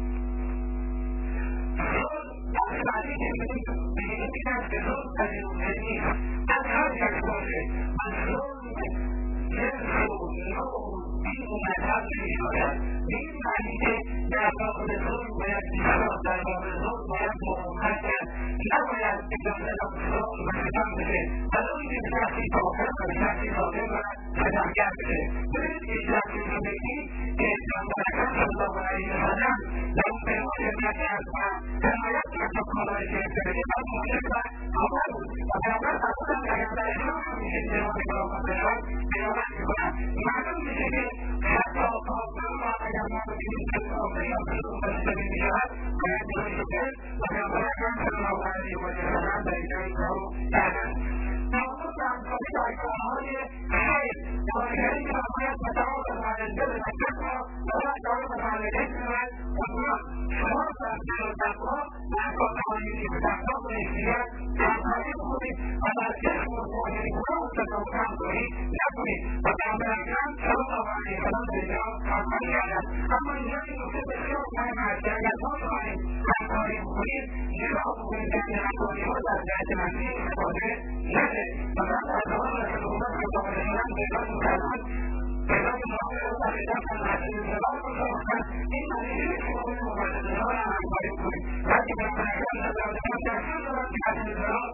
ظلم بعدی که می‌بینیم این است که ظلم پذیرفته نیست از هر کس باشه و ظلم جنس و نوع دین و مذهب نمی‌شاید. به این معنی که در مقابل ظلم باید ایستاد، در مقابل ظلم باید مقاومت کرد، نباید اجازه داد ظلم و ستم بشه ولو اینکه به شخصی کافر و به شخصی ظالم و ستمگر بشه. ببینید که شخصی زندگی که پیامبر اکرم صلی الله علیه وسلم در اون پیمان شرکت کرد و حمایت کرد تا کارهای گرفته بشه و موجب و کافر بود و پیامبر فرمودند اگر در اسلام هم میشه پیمان اجابت بشود اجابت می‌کنم. معلوم میشه که حتی کافر را اگر ما ببینیم که کافر یا ظلم و ستم می‌شود باید جلوش کرد و پیامبر اکرم صلی الله علیه وسلم در اینجا این کار رو کردند. تمام همکاری در کارهای خیر کارگری که باید متعاون والدین بتقوا و متعاون والدین شود و شما در دل و تقوا و با توانایی به تقوا و احتیاط همکاری بکنید و در جسم و ظاهری‌ها تصادف هم نکنید و پیامبر اکرم صلی الله علیه وسلم به اینجا همکاری کردند. اما اینجا این نکته بسیار مهم است که اگر ما بخواهیم همکاری بکنیم نگاه بکنید که این همکاری‌ها در جهت منفی استفاده نشه و من در زمان رسول الله صلی الله علیه وسلم پیدا می‌کردم پیدا معامله رو در ایجاد و نحوه انضباط رو ساختن. این معنی نیست که ما باید مبادله‌ها را همکاری کنیم، بلکه پیامبر اکرم صلی الله علیه وسلم دستور دادند که از انضباط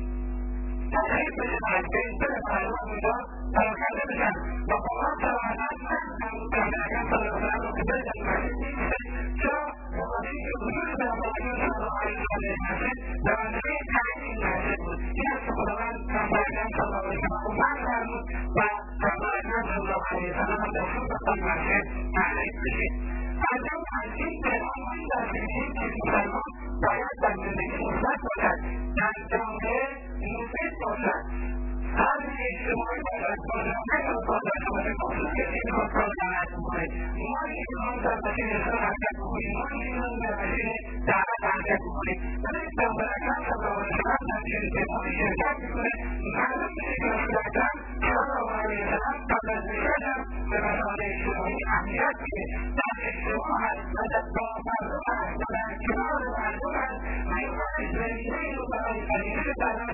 تغییر بشه و از بین بره مردم اونجا پراکنده بشن و قرآن صراحتا پیامبر اکرم صلی الله علیه وسلم رو که بره در مسجد نیستش. چرا؟ بخاطر اینکه وجود پیامبر اکرم صلی الله علیه وسلم در مسجد به منزله تعیین این مسجد بود. این است که خداوند پیامبر اکرم صلی الله علیه وسلم رو منع فرمود و پیامبر اکرم صلی الله علیه وسلم هم دستور داد این مسجد تعیین بشه. اگر از این پیغام این درس می‌گیریم که مسلمان باید در زندگی مثبت باشد، در جامعه مفید باشد، هر اجتماعی باشد، با جامعه و با جامعه کسی میخواد کار دعوت بکنه ما میخوام در مسیر اسلام حرکت بکنیم ما میخوام در مسیر دعوت حرکت بکنیم ولی پیامبر اکرم صلی الله علیه وسلم در جلسه‌های شرکت میکنه معلوم میشه که رسول اکرم صلی الله علیه وسلم قبل از رسالت به مسائل اجتماعی اهمیت میده در اجتماع هست و با مردم هست و در کنار مردم هست و این زمینه‌ای رو برای پذیرش دعوت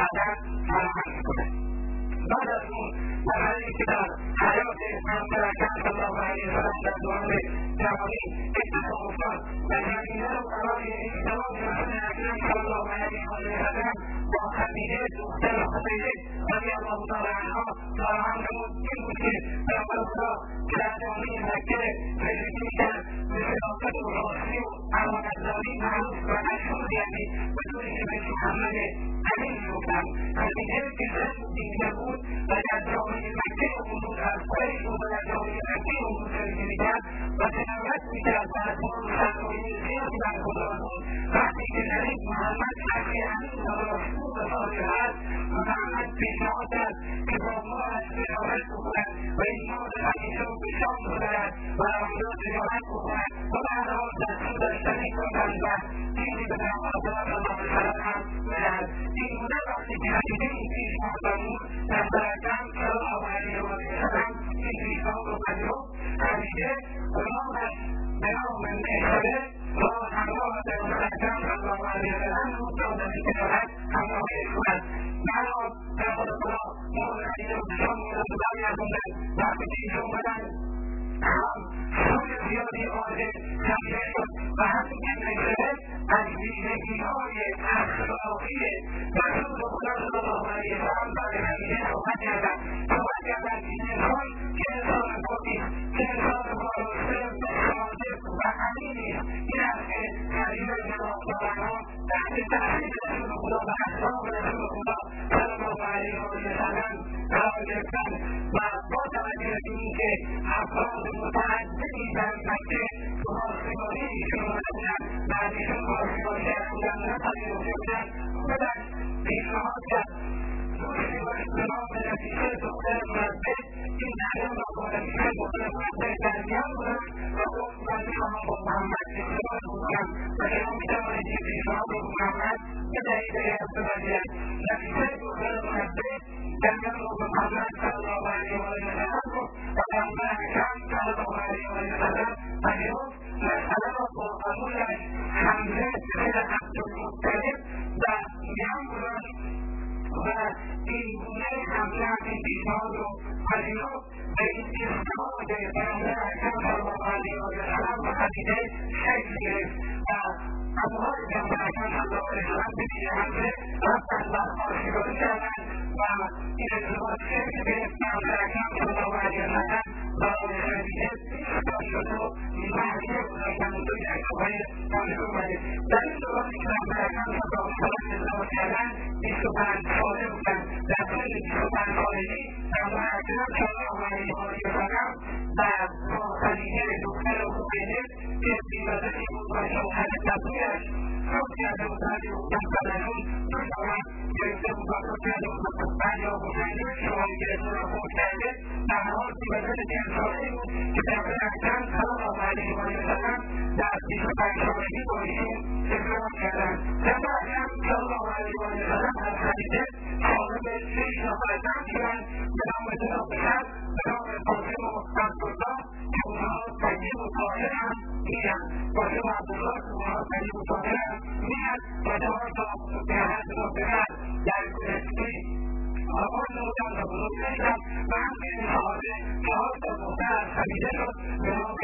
فراهم میکنه بعد از اون مرحله‌ای که در حیات پیامبر اکرم صلی الله علیه وسلم در دوران جوانی اتفاق افتاد و زمینه رو برای ازدواج رسول اکرم صلی الله علیه وسلم با خدیجه دختر خویلد رضی الله تعالی عنها فراهم نمود این بود که پیامبر خدا که در جامعه مکه زندگی میکرد به صداقت و راستی و امانتداری معروف و مشهور یعنی به طوری که بهش محمد امین میگفتند خدیجه که زن دینی بود و در جامعه مکه امور از قریش بود و در جامعه مکه امور زندگی میکرد و تلاوت میکرد و از ما سرمایه زیادی برخوردار بود وقتی که شنید محمد حقی امین و راسخو و صادق است محمد پیشنهاد کرد که با ما از تجارت بکند و این مال خدیجه رو به شام ببرد و آنجا تجارت بکند و بعد آن دستور داشتنی کردند و چیزی به پیامبر صلی الله علیه وسلم هم بدهد این بوده وقتی که خدیجه این پیشنهاد فرمود پیامبر اکرم صلی الله علیه وسلم این پیشنهاد رو پذیرفت خدیجه غلامش به نام میسره با همراه پیامبر اکرم صلی الله علیه وسلم رو تا در تجارت همراهی کند بعد پیامبر خدا مال خدیجه رو به شام بردند و برگرداندند وقتی که اینجا اومدند هم سود زیادی آمده خدیجه شد و همین که میسره از ویژگی‌های اخلاقی رسول خدا صلی الله علیه وسلم برای خدیجه صحبت کردند که انسان که انسان پاکی که انسان وارسته و صادق و امینی این است که خدیجه رضی الله تعالی عنها تحت تاثیر رسول خدا و اخلاق رسول خدا صلی الله علیه وسلم قرار گرفتند و با توجه به اینکه افراد متعددی در مکه خواستگاری ایشون آمده بودند و از ایشون خواستگاری کرده بودند و نپذیرفته بودند خودش پیشنهاد کرد دوستی باید به نام نفیسه دختر مربع این نظر را با نفیسه دختر مربع در میان بودند و گفت من میخواهم با محمد ازدواج بکنم و شما میتوانید این پیشنهاد رو محمد بدهید اگر بپذیرد نفیسه دختر مربع جنگل رو به محمد صلی الله علیه وسلم گفت و پیامبر اکرم صلی الله علیه وسلم پذیرفت مسئله را با عمویش حمزه پسر عبدالمطلب در میان گذاشت و این گونه حمزه این پیشنهاد رو پذیرفت به این ازدواج پیامبر اکرم صلی الله علیه وسلم و خدیجه شکل گرفت و عموهای پیامبر اکرم صلی الله علیه وسلم به پیش حمزه رفتند و خواستگاری کردند و این ازدواج شکل گرفت پیامبر اکرم صلی الله علیه وسلم برای خدیجه پیشنهاد شد و مهریه گذاشتند و دوی عقبای تاریخ اومده در این دوران که پیامبر اکرم صلی الله علیه وسلم ازدواج کردند 25 ساله بودند در طول 25 سالگی پیامبر اکرم صلی الله علیه وسلم در با خدیجه دختر خویلد که بی‌وزنی بود و شوهر تبریش صبح کرده بودند و دخترشون دوشامد گرفته بود و صبح کرده بود بعد یا بودنده شوهر گرفته و فوت کرده در حال بی‌وزن 40 ساله‌ای بود که پیامبر اکرم صلی الله علیه وسلم در 25 سالگی با ایشون ازدواج کردند پیامبر اکرم صلی الله علیه وسلم از خدیجه صاحب 6 نفر زن شدند به نام دو پسر به نام قاسم و عبدالله که اونها طیب و طاهر هم می‌اند قاسم و عبدالله که اونها طیب و طاهر هم می‌اند و 4 تا پسر در گذشته آغاز نمودند و بزرگ شدند و همچنین صاحب 4 تا دختر از خدیجه شد به نام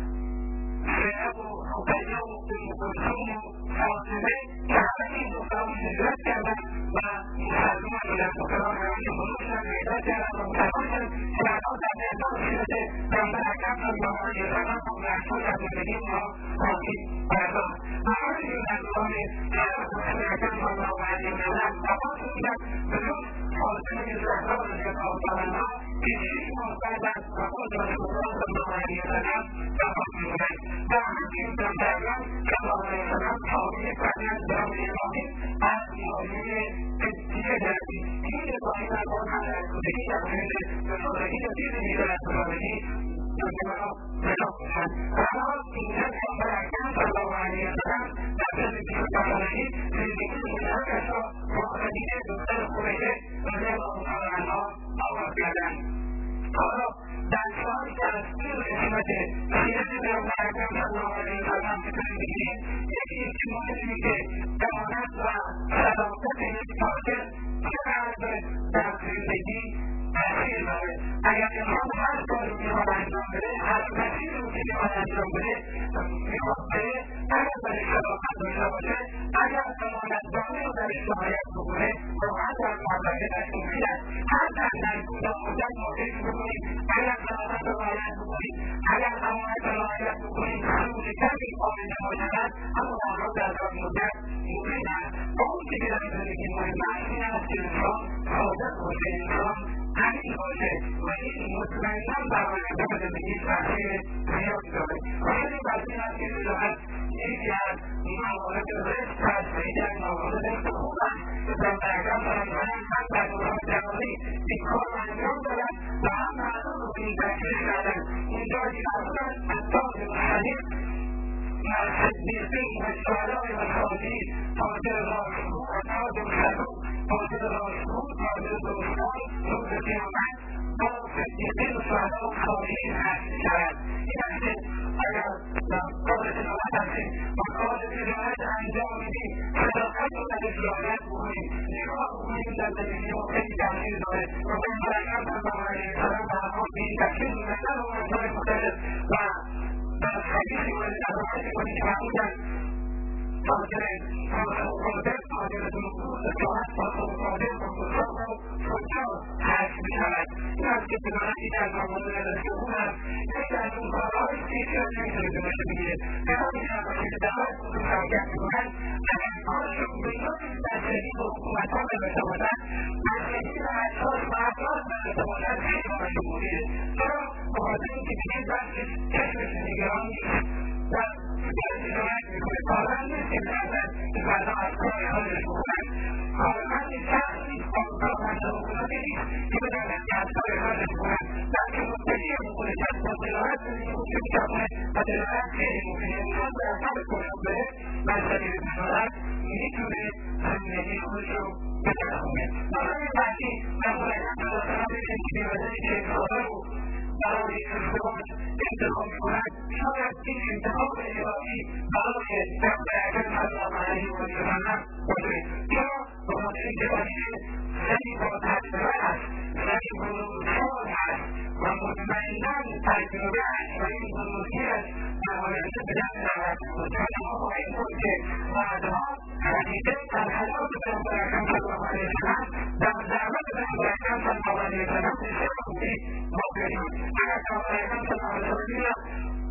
زینب و رقیه و ام کلثوم و فاطمه که همه این دختران هجرت کردند و مسلمان شدند دختران همه بزرگ شدند و هجرت کردند و مسلمان شدند که بعدها در 1913 پیامبر اکرم صلی الله علیه وسلم با محمود از زندگی اونها باقی پرداخت و همینجور در دوران حیات رسول اکرم صلی الله علیه وسلم وفات شدند بجز فاطمه زهرا رضی الله تعالی عنها که 6 ماه بعد از وفات رسول الله صلی الله علیه وسلم وفات می‌کنند و همچنین پیامبر اکرم صلی الله علیه وسلم تابع فرزند به نام ابراهیم از ناحیه قبطیه گردید این ابراهیم نکن همه از کودکی در مورد رسالگی و دیر میدون از رسالگی جمعه پیدا کنند و اما اینجا پیامبر اکرم صلی الله علیه وسلم در زندگی رسالگی زندگی مشترکش را با خدیجه دختر خویلد رضی الله تعالی عنها آغاز کردند. حالا در سالی که از این قسمت سیرت پیامبر اکرم صلی الله علیه وسلم فکر می‌کنیم یکی از مهمی که امانت و صداقت یک تاجر چقدر در زندگی تاثیر داره. اگر انسان هر کاری میخواد انجام بده هر مسیری رو که میخواد انجام بده میخواد بره اگر برای صداقت داشته باشه اگر امانتداری رو درش رعایت بکنه راحت در موفقیت دست می‌گیرد. هر در کوتاه مدت ما فکر بکنیم اگر صداقت رو رعایت بکنیم اگر امانت رو رعایت بکنیم سود کمی آینده ما شود اما در حال در دراز مدت ممکن است اون که در زندگی مهم است این است که انسان صادق باشه انسان امین باشه و این مطمئنا بر آینده و زندگی تاثیر زیادی داره. خیلی بسیار است که می‌داند یکی از موارد رزق هست یکی از موارد رزق خوب است که پیامبر اکرم صلی الله علیه وسلم هم در دوران جوانی این کار را انجام دادند و هم مردم را به این تشویق کردند. اونجا که فرمودند التاجر الصدیق مع الصدیقین والشهداء والصالحین تاجر راستگو و تاجر صدوق تاجر راستگو تاجر درستکار روز قیامت با صدیقین و شهدا و صالحین حشر شود. این است که اگر کار تجارت هستیم و کار تجارت انجام میدیم صداقت رو درش رعایت بکنیم نگاه بکنیم در زندگی ما خیلی تاثیر داره و پیامبر اکرم صلی الله علیه وسلم به هر حال به این تشویق می‌کردند و امثال مختلف و در حدیثی مورد روایتی کنید که فرمودند تاجر صادق تاجر دروغگو تجارت صادق صادق و فساق و فجار حشر می‌شود. این است که تجارت یکی از موارد رزق خوب است. یکی از اون کارهایی است که هیچ‌کس نمی‌تونه جلوش بگیره. کسانی که نباشه که دعوت به مشارکت می‌کنند اگر کارشون به طوری بستگی به حکومت‌ها نداشته باشد بستگی به اشخاص و افراد نداشته باشد خیلی کارشون مفیده. چرا؟ بخاطر اینکه دیگه بحثش چشمش نگران نیست و تجارت می‌کنه. کارمند نیست که می‌خواهد که فردا از کار خودش بکنند. کارمند شخص نیست کارمند حکومتی نیست که بداند که از کار خودش بکنند بلکه متکی می‌کنه که از با تجارت زندگی خوب می‌کنه و تجارت خیلی مفیده. انسان به اصلا کنه بره و از طریق تجارت می‌تونه زندگی خودش رو بچرخونه. مورد بعدی پیامبر اکرم صلی الله علیه وسلم ببینید که بی‌وجه که خدا رو برای ازدواج انتخاب می‌کنند شاید این انتخاب الهی برای پیامبر اکرم صلی الله علیه وسلم باشه. چرا؟ بخاطر اینکه خدیجه زنی با تجربه است زنی بزرگسال است و مطمئنا تجربه است و این بزرگی‌اش در آینده به دست می‌آورد. ما خواهیم دید که بعدها خدیجه در حیات پیامبر اکرم صلی الله علیه وسلم در دعوت پیامبر اکرم صلی الله علیه وسلم بسیار خوبی واقع شد. اگر پیامبر اکرم صلی الله علیه وسلم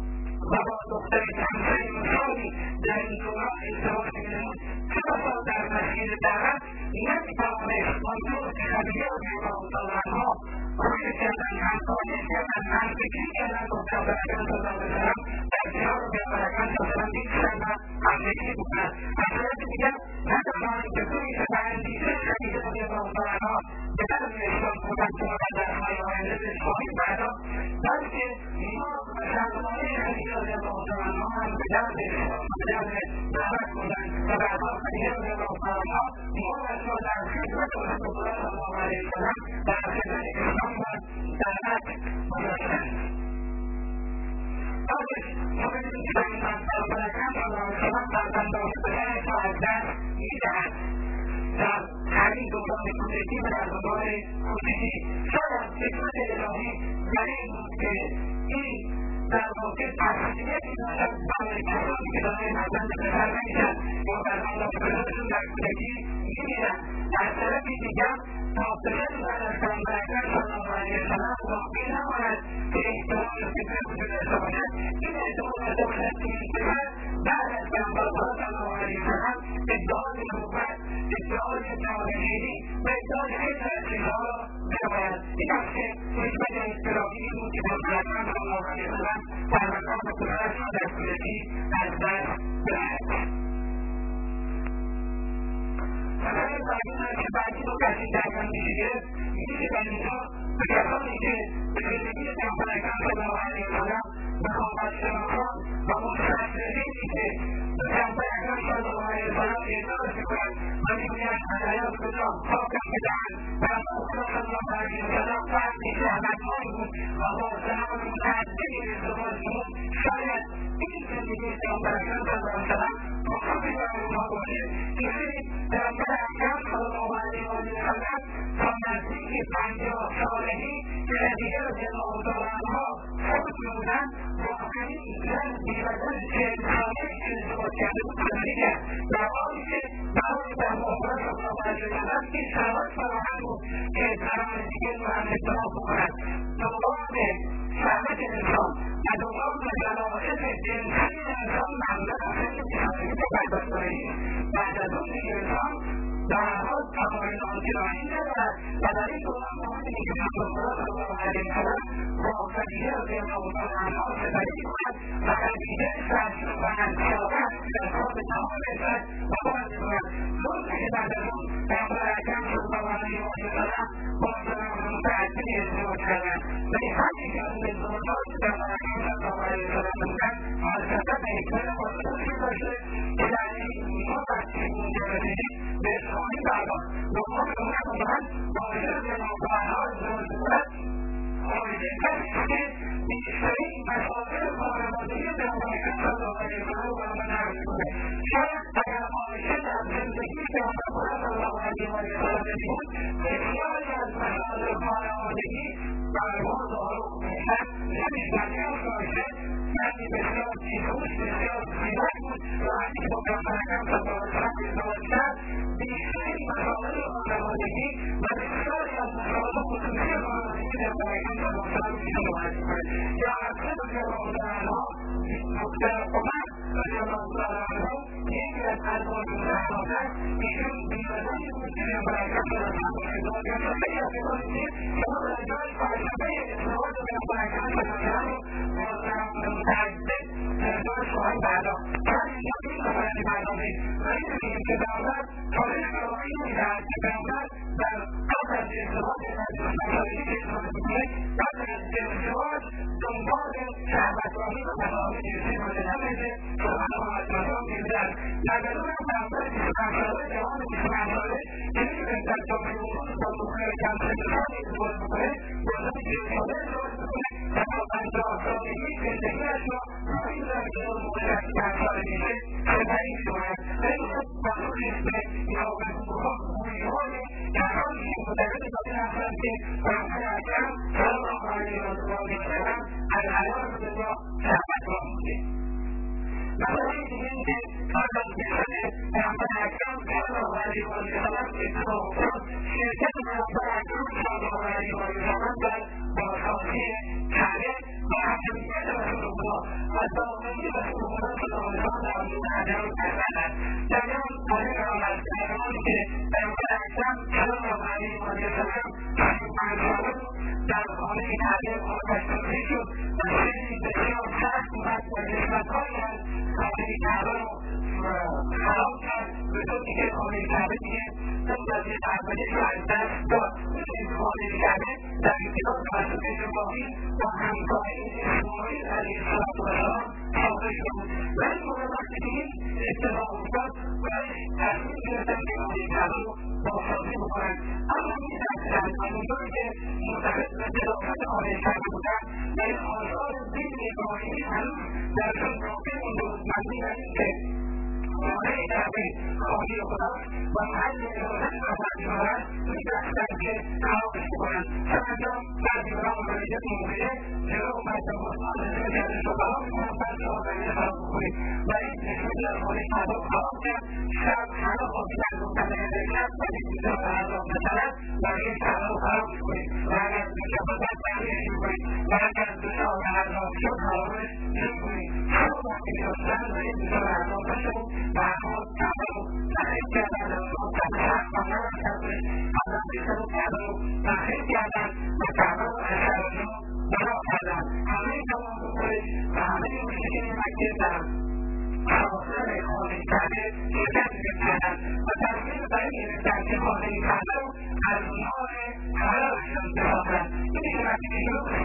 و با دختر همسر مثالی در این دوران ازدواج می‌نمود چه بسا در مسیر دعوت نمی‌توانست آنطور که خدیجه رضی الله تعالی عنها روی کردن همکاری کردن نزدیکی کردن با پیامبر اکرم صلی الله علیه وسلم در کنار پیامبر اکرم صلی الله علیه وسلم بیستند و همدلی بکنند. از طرف دیگر نتوانند که روی اندیشه خدیجه رضی الله تعالی عنها به طرف اسلام بودند که ما در های آینده بهش خواهیم پرداخت بلکه ما شرمانه خدیجه رضی الله تعالی عنها هم به درد اسلام به درد دعوت بودند و بعدها خدیجه رضی الله تعالی عنها ما را در خدمت رسول الله صلی الله علیه وسلم در خدمت اسلام و دعوت گذاشتند. آخر ما ببینیم که پیامبر اکرم صلی الله علیه وسلم فرزندان پدرش را از دست می‌دهد در همین دوران کودکی و در دوران کودکی. شاید حکمت الهی در این بود که این در واقع تسلیتی باشد برای کسانی که دارای فرزند پسر نمیشن یا فرزندان پدرشون در کودکی می‌میرن. از طرفی دیگر تا پدری بعد از پیامبر اکرم صلی الله علیه وسلم باقی نماند که احتمال فتنه وجود داشته باشد. این احتمال داشته باشد که این پسر بعد از پیامبرخدا صلی الله علیه وسلم ادعای نبوت ادعای جانشینی و ادعای خیلی از چیزها را بنماید. این است که حکمت اصطلاحی بود که پیامبر اکرم صلی الله علیه وسلم فرزندان پدرش را در کودکی از دست بدهد. مسئله بعدی که بعدی رو کسی درکن میشه در اینجا به کسانی که به زندگی پیامبر اکرم صلی الله علیه وسلم مخالفت شناسان و مستشرقینی که به پیامبر اکرم صلی الله علیه وسلم اعتراض میکنند و میگویند علیات کجا پاکم بدهند پیامبر صلی الله علیه وسلم فردی زحمتمند بود و با زنان متعددی ازدواج بود شاید این زندگی پیامبر اکرم صلی الله علیه وسلم مخالفی برای اونها باشه که پیامبر اکرم صلی الله علیه وسلم تا نزدیک 50 سالگی که دیگر جناب دارنها خود بودند واقعی زن بی‌بدن 40 ساله ازدواج کرده بود زندگی کرد در حالی که برای در محبت صلی الله علیه وسلم این شرایط فراهم بود که زنان دیگر رو هم ازدواج بکنند دنبال شهوت انسان و دنبال ملائکت جنسی انسان معمولا اصلا که برداشت کنید بعد از اون دیگه انسان در حال تمایل آنچنانی ندارد و در این دوران مهمی که پیامبر صلی الله علیه وسلم با خدیجه رضی الله تعالی عنها سپری می‌کند و خدیجه سرشون و انشاءت در کار به تمام رسد و باز می‌کند درسته که بعد از اون پیامبر اکرم صلی الله علیه وسلم با زنان متعددی ازدواج کردند ولی همین که اون ازدواجات که پیامبر اکرم صلی الله علیه وسلم بودند البته به حکمت خودش داشته که در این ما وقتی اونجا رسیدیم به اسلامی پرداخت لقمان به اون نگفتند واجب جناب عنها ازدواج بودند خارجه کسی که بیشترین مسائل خانوادگی پیامبر اکرم صلی الله علیه وسلم رو برای من نقل می‌کنه شاید اگر خارجه در زندگی پیامبر صلی الله علیه وسلم بود بسیاری از مسائل خانوادگی برای ما ظاهر می‌شد نمی‌شد خارجه مردی بسیار بی‌هوش بسیار زیبا بود و وقتی که با پیامبر اکرم صلی الله علیه وسلم ازدواج کرد بیشترین مسائل خانوادگی و بسیاری از مسائل خصوصی خانوادگی پیامبر اکرم صلی الله علیه وسلم پیش آمد یا حضرت رضی الله تعالی عنها دختر عمر رضی الله تعالی عنه یکی از ازواج مطهرات ایشون بی‌بدنی بود که پیامبر اکرم صلی الله علیه وسلم ازدواج کرد و خیلی از کسانی که شما در جای فلسفه ازدواج پیامبر اکرم صلی الله علیه وسلم با زنان متعدد ازدواج خواهند پرداخت ولی اینجا این مسئله پردازیم و این می‌بینیم که پیامبر تاریخ شرایعی می‌دهد که پیامبر در قبل از ازدواج مسائلی که ازدواج می‌کنه قبل از ازدواج دنبال شهوت‌آمیز و مسائل جنسی مورد نمیده سبحان الله انجام می‌دهد در درون پیامبر 25 ساله جوان 25 ساله که می‌تونه در جامعه امروز با دختر کم سن سالی ازدواج بکنه با زن 40 ساله ازدواج بکنه و تا 50 سالگی زندگی‌اش را این زمینه رو مورد 25 ساله میشه سپری می‌کند ولی خب معلوم نیست به خوبی‌های کسانی که مدرس داده هستند که پیامبر اکرم صلی الله علیه وسلم الحیات کجا شهوت‌ها بوده مسئله دیگه این که قبل از بعثت پیامبر اکرم صلی الله علیه وسلم اتفاق افتاد شرکت پیامبر اکرم صلی الله علیه وسلم در بازسازی کعبه و حکمیت رسول الله و دامنی رسول الله صلی الله علیه وسلم در وجود عدم کردند در این مورد از زمانی که پیامبر اکرم صلی الله علیه وسلم 25 ساله در خانه کعبه آتش‌سوزی شد و شعری بسیار سخت اومد و نسبت‌هایی از خانه کعبه رو خراب کرد به طوری که خانه کعبه دیگه اون وضعیت اولیش رو از دست داد این خانه کعبه در ابتدا توسط ابراهیم با همکاری اسماعیل علیه السلام ساخته شده بود ولی موقع وقتی که این اتفاق افتاد باید تصمیم گرفتن که خانه کعبه رو بازسازی بکنن اما می‌دانستند همونطوری که معتقد به ظرافت خانه کعبه بودن و این آثار دین ابراهیمی هنوز درشون باقی مونده بود مبنی بر اینکه خانه کعبه خانه خداست و محل عبادت و پروردگاران می‌دانستند که خرابش بکنند سرانجام بعضی اونها متوجه موقعه جلو مردم مسلمان نشون کرده شما می‌خواهند بعضی آقایان خراب بکنید و این نشون در خانه کعبه خراب کرد شب همه خوابیدن گفتن اگر شب ولی اینجا به عذاب نشود برای کعبه رو خراب می‌کنید و اگر دوشنبه بعد برگشت می‌کنید و اگر دوشنبه به عذاب شد خرابش نمی‌کنید همه وقتی می‌خواستن و این دوشنبه به عذاب نشد و همه کعبه رو تخریب کردن و کعبه خانه رو کردن حضرت عیسی رو کعبه رو تخریب کردن و کعبه رو از شرجا بنا کردن همه تمام بکنید و همه مشکل مکه در حواصل مادر خانه کرده شرکت میکردن و تصمیم بر این گرفتن که خانه کرده رو از مال حلالشون بسازن. این دیگه وقتی که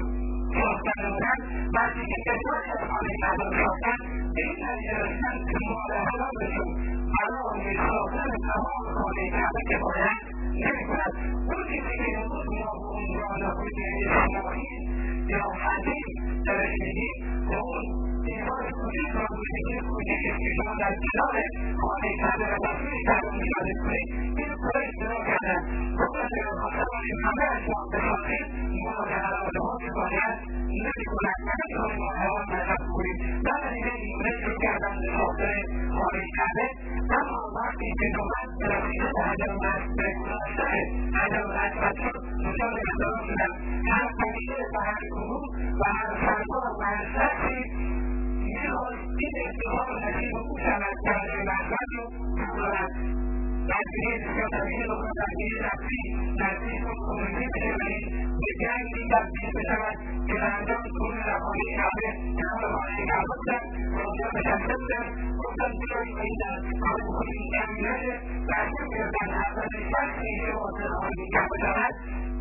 ساختن بودن، وقتی که ازدواج از خانه کرده رو ساختن، به این نتیجه رسیدن که مال حلالشون برای ساختن تمام خانه کرده که باید نمی‌کند. اون چیزی که امروز ما به عنوان حجه اجتماعی یا حدیث درش میگیم به اون دیوار کوچیک و کوچیکی که شما در کنار خانه کرده و تصویر کرده مشاهده کنید، این کار اجتماع کردن. گفتن که خواستن باشیم همه از ما بسازیم ما به حلالها که باید نمی‌کنند و نمی‌کنیم ما حیوان مذهب کنیم. بنابراین این شروع کردن به ساختن خانه کرده. اما وقتی که نوبت برسیده به عدم به گذاشته عدم رسمت شد مشاهده اقدام شدن. هر قبیله و هر گروه و هر سرکار و هر شخصی میخواست این افتخار نصیب او شود که عدم رسمت رو بگذارد. درگیری بسیار طبیعی رو کنم درگیری نفسی نزدیک و کمونیتی بشه و این به جنگی تبدیل بشود که در انجام کنون در خانه کعبه کنار خانه کعبه بودن و اونجا نشسته بودن. گفتن بیایید و این در کار بکنیم این جمعی نشه و تصمیم گرفتن اولین شخصی که وارد خانه کعبه شود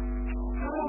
او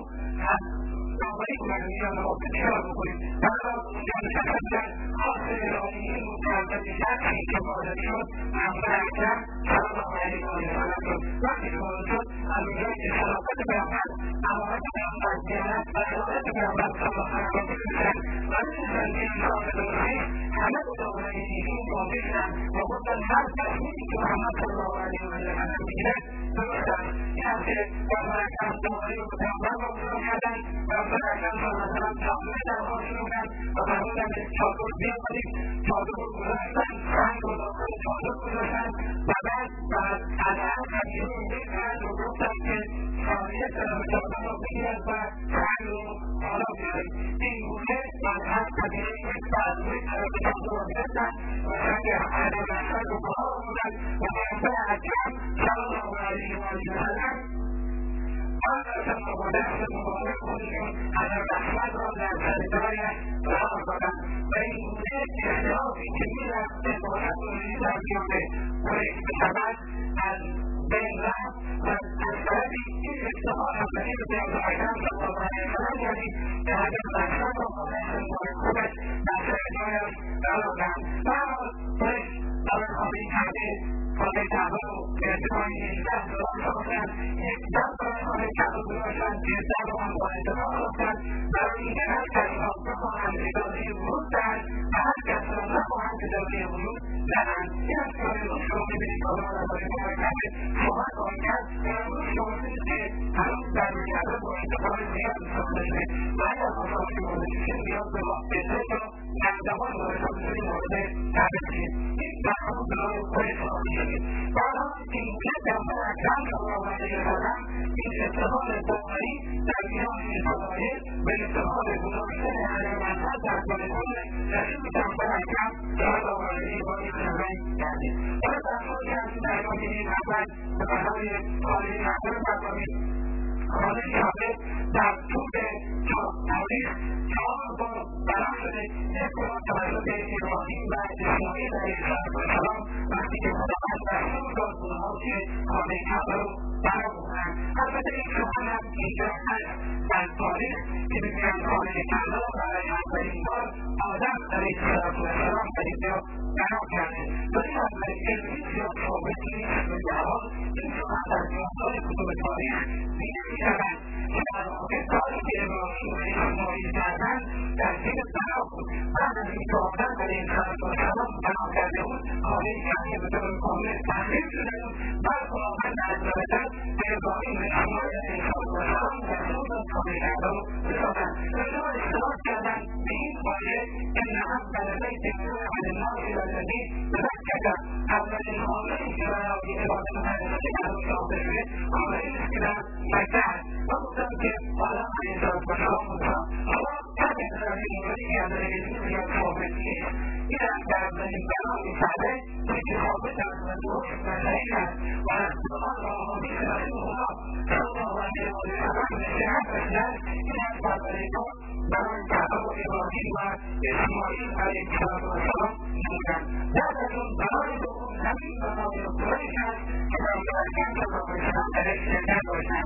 دنبالی کنن و میان را به نگاه بکنیم. بعد اونجا نشسته بودن حاصل ارائه این متعدد شخصی که وارد شد پیامبر اکرم صلی الله علیه و سلم شد. وقتی که وارد شد از اونجایی که صداقت پیامبر امانت پیامبر دیانت و عدالت پیامبر صلی الله علیه و سلم میشن و میدونستن که این کار درستی همه به دامنه ایشون واقع شدن و گفتن هر تصمیمی که محمد صلی الله علیه و سلم میگیره درست است. این است که پیامبر اکرم صلی الله علیه و پیامبر را شروع کردن. پیامبر اکرم صلی الله علیه و سلم تعامل درها شروع کرد و فرمودن که چادر بیاورید. چادر رو گذاشتن، سنگ رو داخل چادر گذاشتن و بعد از هر قبیله یک فرد رو گفتن که خانه چادر رو بگیرد و سنگ رو بالا بیارید. این گونه از هر قبیله یک فرد روی طرف چادر رو گرفتن و سنگ عدم رسمت رو بالا بودن و پیامبر اکرم صلی الله علیه و سلم بعد از با دست مبارک خودشون عدم رسمت را در سرگاهش قرار دادن و این گونه اختلافی که میرفت عبارت و در بیامه برش بشود از بین رفت و از طرفی این افتخار همراهی به پیامبر اکرم صلی الله علیه و سلم کردیم که عدم رسمت را با دست مبارک خودش در سرگاهش قرار دادن. و اما برش برای خانه کرده خانه کعبه رو به ارتفاع 18 دلار ساختن. یک در برای خانه کعبه گذاشتن که در رو هم با ارتفاع ساختن برای اینکه هر کس را بخواهند اجازه ورود دهند و هر کس را نخواهند اجازه ورود دهند. این است که امروز شما میبینید که آدم درباره خانه کعبه صحبت خواهید کرد و امروز شما میبینید که هنوز در کعبه با ارتفاع زیاد ساخته شده و اگر خواهد که مورد شده نیاز به بهتر را در زمان مورد مورد کعبه شدید. این برنامه برای خود ساخته شدید. بعدا این گونه پیامبر اکرم صلی الله علیه و سلم این افتخار باقی در میان شرایط به افتخار گذاشتن عدم رسمت در کار خود رسول پیامبر اکرم صلی الله علیه و سلم کردید. حالا در خواهی از این در این اول به برای خانه کعبه بفرمایید. خانه کعبه در طول تاریخ 4 بار بنا شده. یک بار توسط ابراهیم و اسماعیل علیه السلام وقتی که خداوند دستور داد اونها که خانه کعبه رو بنا بکنند. البته این سخن هم اینجا هست در تاریخ که میگویند خانه کعبه رو برای اولین بار آدم علیه السلام در اینجا بنا کرده. ولی اولین علمی زیاد ثابت نیست و در حال این سخن در میانسال کتب تاریخ دیده میشود که در واقع کاری که ابراهیم و اسماعیل کردند در زیر بنا بود. بعد از اینکه آدم علیه السلام بنا کرده بود خانه کعبه به طور کامل تغییر شده بود. بعد خداوند عزوجل به ابراهیم و اسماعیل علیه السلام دستور داد خانه کعبه رو بسازند. اینها اشتراک کردند به این آیه ان اول بیت وضع للناس الذی ببکة اولین خانه‌ای که برای عبادت مقدس کعبه ساخته شده خانه‌ای است که در مکه است. و گفتم که آدم علیه السلام بودن. حالا همین در این موردی که از علمی زیاد ثابت نیست. این است در اولین بنای کعبه که ثابت است و درست و صحیح است و از قرآن و احادیث رسول الله صلی الله علیه و سلم به صحت رسیده است. این است که اولین بار بنای کعبه رو ابراهیم و اسماعیل علیه السلام نمودند. بعد از اون بنای دوم زمین بنای قریش است که پیامبر اکرم صلی الله علیه وسلم درش زنده باشند.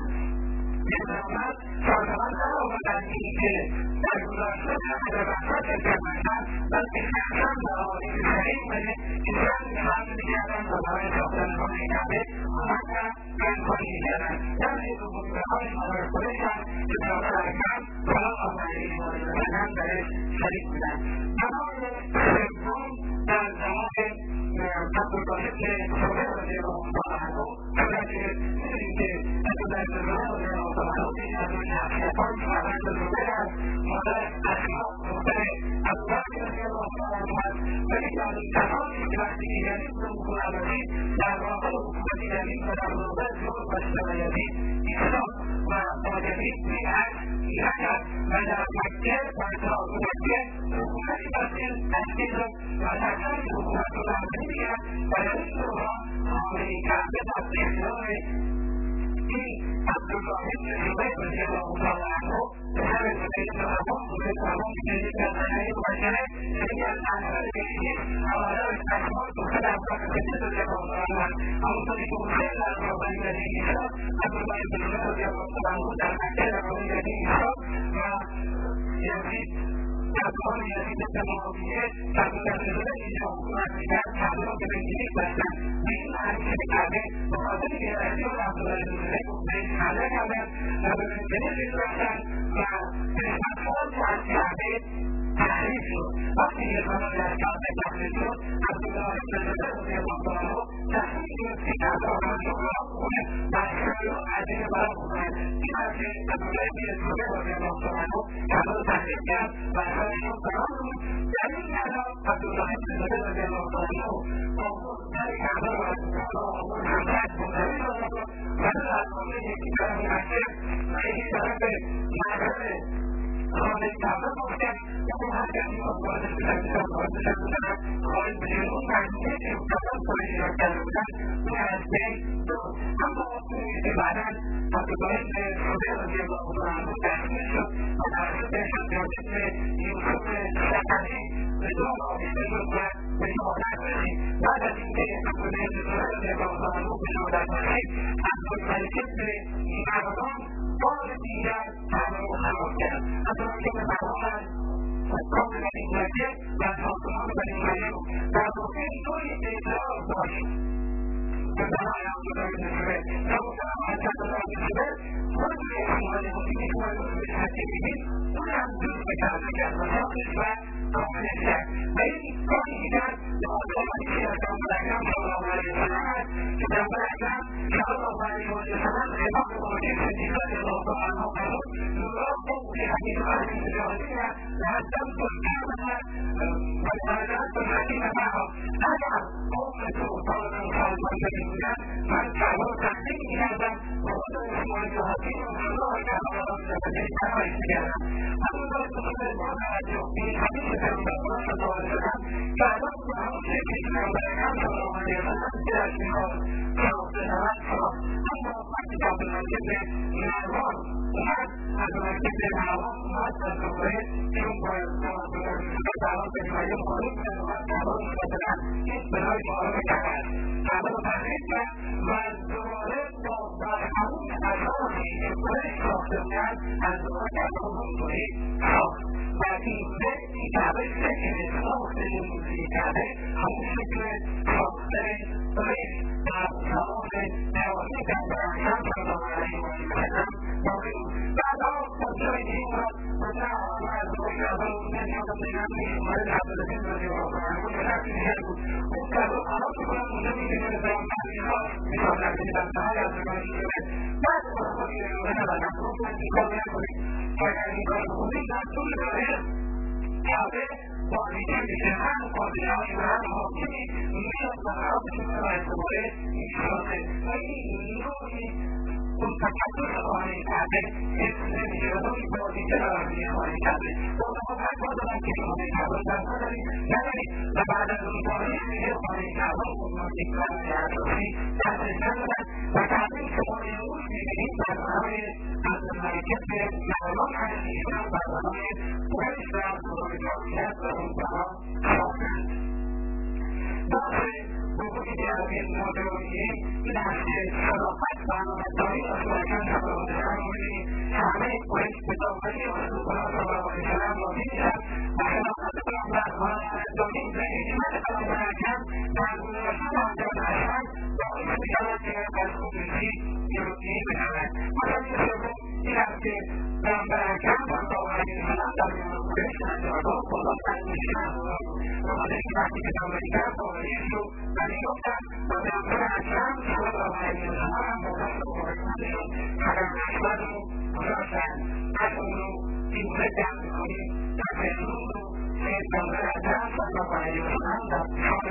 پیغمبر سازمان درآوردند اینکه در گذشته همه به وسط شرکت باشند، بلکه شخصا به آیین صحیح بده که زن حمل میکردند و برای ساختن خانه کعبه آمدن گردخوانی میکردند. درس دوم بنای بنای قریش است که پیامبر اکرم صلی الله علیه وسلم درش شریک بودند. بنای سوم در زمان عبدالله که صبح رضی الله عنه البته می‌دونیم که عبدالله رضی الله عنه این از اون شخصیتان فرزند زبیر است، مادر اسما دختر ابوبکر رضی الله عنه است و یکی از اون کسانی که وقتی که یزید بن معاویه در واقع حکومت یزید و در واقع ظلم و ستم یزید ایستاد و با یزید بیعت نکرد و در مکه در تاج مکه حکومتی باطل تشکیل داد و تکرار حکومت رو میگن و در این دوران خانه کعبه در اختیار این عبدالله بن زبیر رضی الله تعالی عنه پسر زبیر بن عوام که یکی از زنهای مبشره یکی از اعمال بهشت هوادار اسما دختر ابوبکر صدیق رضی الله تعالی عنه همونطوری که حسین در زمان یزید ایستاد عبدالله بن زبیر رضی الله تعالی عنه در مکه در زمان یزید ایستاد و یزید در زمان یزید بن معاویه در گذشته اینجا حکومت میکرد کعبه را به بنگیریک بستند به این معنی که کعبه به خاطر بی‌عدالتی عبدالله بن زبیر بهش حمله کردند و به بنگیریک رفتند و قسمت‌هایی از کعبه تحریف شد. وقتی که قسمتی از کعبه تحریف شد عبدالله بن زبیر رضی الله تعالی عنه تصمیم گرفت که کعبه را برجا کنه و اشکال را عظیم برا بکنه. این است که عبدالله بن زبیر رضی الله تعالی عنه کعبه را تحریف کرد و اشکالشون قرار بود. در این معنا عبدالله بن زبیر رضی الله تعالی عنه در کعبه را از حملت منتقل شد و از خانه یکی طرف مکه و یکی طرف معبد خانه کعبه گفتن و اون هر کسی را وارد شدن خارج بشه. اون مجموعه که کسان خارج را کرده بودن اون از بین داد. اما که بعدا عبدالله بن زبیر رضی الله تعالی عنه دستگیر شد و توسط شجاعت یوسف ثقفی به دام آویخته شد و به شهادت رسید. بعد از اینکه عبدالله بن زبیر رضی الله تعالی عنه به شهادت رسید عبدالملک بن مروان بار دیگر کعبه را خراب کرد. عبدالملک بن مروان قوم بنی امیه و ساکنان بنی امیه در واقع نوعی اعتراض داشت به برای عبدالله بن زبیر و محترم از عبدالله بن زبیر خود اسماعیل مسلمی که مربوط به حکیمی‌اید اون هم دوست به کعبه کرد و ساختش و کاملش کرد و این کاری که کرد به آدمانی که از پیامبر اکرم صلی الله علیه وسلم است که پیامبر اکرم صلی الله علیه وسلم امام ابراهیم صدیق رضی الله تعالی عنه فرمود نورا قوم حدیث اهل الجاهلیه لهدمت الكعبة والآلات الحكيم معه. أنا قومة طالبا خالصا بالله من كعبة تحديد هذا وهذا اسمه الجهاتين ومن الله كعبة ربنا فجأة كما يستجانا. أما ذلك من المعنى في حديث النبي صلى الله عليه وسلم كعبة معه شيء من الأحكام صلى الله عليه وسلم إلى شمال صلى أما وقت عبد المجيد من الرام ومن عبد المجيد من الرام ومن الكفرين ثم تعرف بما يقول برای معارضه کرد. کعبه را تحریف کرد و دوباره با همون اساسی که خودش ساخته بودند از دوباره کعبه را منطقی ساخت و این کعبه شکل ساخت موسیقی کعبه همون شکل ساختن ریش در تمام نواحی پیامبر اکرم صلی الله علیه وسلم باقی بود. بعدا تا جای دین را مثلا از دوباره کعبه را نمی‌آمد مورد عبدالله بن رضی الله عنه که رفتی دیگر بود اون کعبه خراب می‌کنن اونجا می‌بینن پیامبر می‌خواد رفتنی بسته‌های از رگانی شده بعد خود ایرانه نبردن گفتن این کار نکنید که اگر این کار کنید در طول داره کعبه باقیده میشه هم پادشاهی و هم حاکمی میاد و خراب می‌کنه و از دوباره می‌سازه و این نوعی اون تکبر خانه کعبه حفظ نمیشه و نوعی باقیده برای خانه کعبه اونها فتوا دادن که خانه کعبه رو دست ندارید و بعد از اون تاریخ دیگه خانه کعبه اون تکرار اساسی دستش ندادن و تحقیق شما امروز میبینید برنامه از مملکت معلوم از ایشان برنامه پولیس و بزرگداشت و اون برا ساختند. بحث حقوق جمعی مدرنی این است که صداقت و امانتداری رسولکان صلی الله علیه وسلم میبینید همه پولیس به داخلی رسول الله صلی الله علیه وسلم را میبینند و خلافت و امانتداری و حکمت پیامبر اکرم در گذشته انجام هستند باعث میشود که از خودرویی جلوگیری بشود. مسئله سوم این است که پیامبر اکرم صلی الله علیه وسلم در میان پولیس انجامگاه خداوند میشوند بخاطر که وقتی که پیامبر اکرم خارجی شد و میگفتند و پیامبر اکرم صلی الله علیه وسلم با دست خارجیشون قدم احمد رو گذاشتند از اون رو این گونه جمع میکنیم در امروز رو که پیامبر اکرم صلی الله علیه وسلم در سال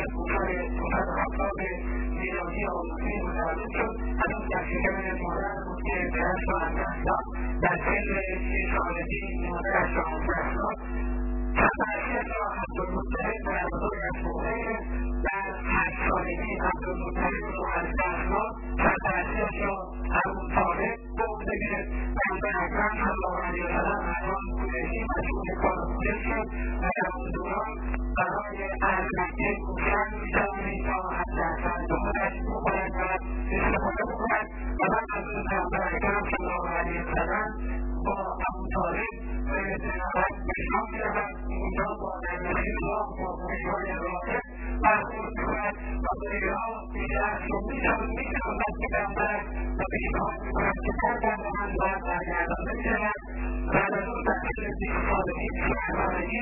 570 میلادی آموزی متولد شد. هنوز در شکم مادر بود که پدرش را از دست داد. در سن 30 سالگی مادرش را از دست داد. سرپرستی‌اش را عبدالمطلب و بزرگش بخیر در 8 سالگی عبدالمطلب را از دست داد. سرپرستی‌اش را ابوطالب به عهده گرفت. پیامبر اکرم صلی الله علیه وسلم از آن قریشی مشغول کار پولیس شد و در آن دوران برای اهل مکه کوشش می‌کردند تا حداقل دخلش بخورد و استفاده بکند و بعد از اون پیامبر اکرم صلی الله علیه وسلم با ابوطالب به زیارت به شام می‌رود. اونجا با نزدیکی راه با پیرهای راهب برخورد می‌کند و پیرها دیگر می‌شناسند که پیامبر و پیشنهاد می‌کند که برگردانند و برگردانده می‌شوند. بعد از اون در سن 20 سالگی 21 سالگی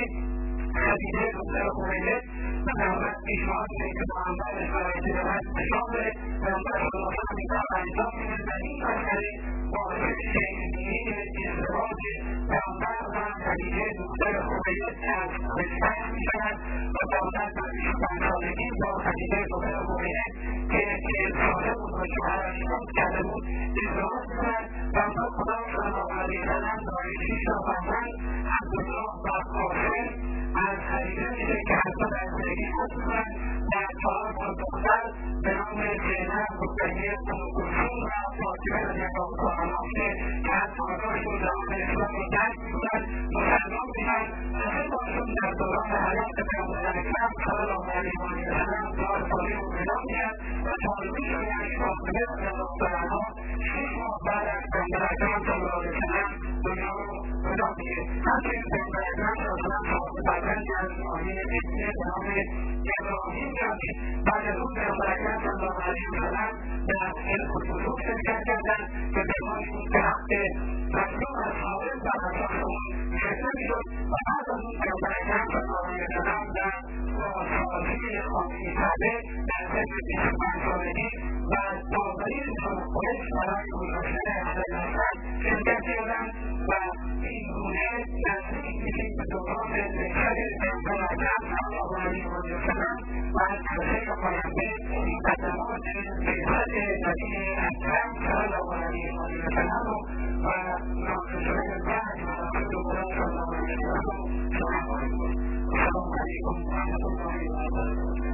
خدیجه دختر خویلد و پیامبر پیشنهاد می‌کنه که با همسرش برای تجارت به شام بره. پیامبر صلی الله علیه وسلم این کار انجام می‌دهد و این مسئله باعث شکل‌گیری ازدواج پیامبر و خدیجه دختر خویلد از رشته‌اش می‌شود و پیامبر در 25 سالگی با خدیجه دختر خویلد که 40 ساله بود و شوهرش فوت کرده بود ازدواج می‌کند. پیامبر خدا صلی الله علیه وسلم دارای 6 تا فرزند عبدالله و قاسم از خدیجه میشه که حتی در زندگی خود می‌کنند و 4 تا دختر به نام زینب، رقیه، ام کلثوم و فاطمه رضی الله تعالی عنها که از پاداشون داخل اسلام را درک می‌کنند مسلمان میشن و سپاسشون در دوران حیات پیامبر اکرم صلی الله علیه وسلم دار صالح و پیدا میشن و طالبیشون یعنی فاطمه رضی الله تعالی عنها 6 ماه بعد از پیامبر اکرم صلی الله علیه وسلم دنیا رو پیدا میشه. همچنین پیامبر اکرم صلی الله علیه وسلم صاحب فرزندی از آیین ابنه به نام ابراهیم داشت. بعد از اون پیامبر اکرم صلی الله علیه وسلم در علم الفلوک شرکت کردند که پیمانشون به حق مظلوم از حاضر و اساس اون گرفته میشد و بعد از اون پیامبر اکرم صلی الله علیه وسلم در بازسازی خانه کعبه در سن 25 سالگی و داوریشون قریش برای گذاشتن اهل حسن شرکت کردند و این گونه نزدیک میشیم به دوران نشأت پیامبر اکرم صلی الله علیه وسلم و از کسه پاینده مقدمات بعثت نبی اکرم صلی الله علیه وسلم و ناقصه‌های بعد مناقب خدا صلی الله علیه وسلم. السلام علیکم و رحمة الله و برکاته.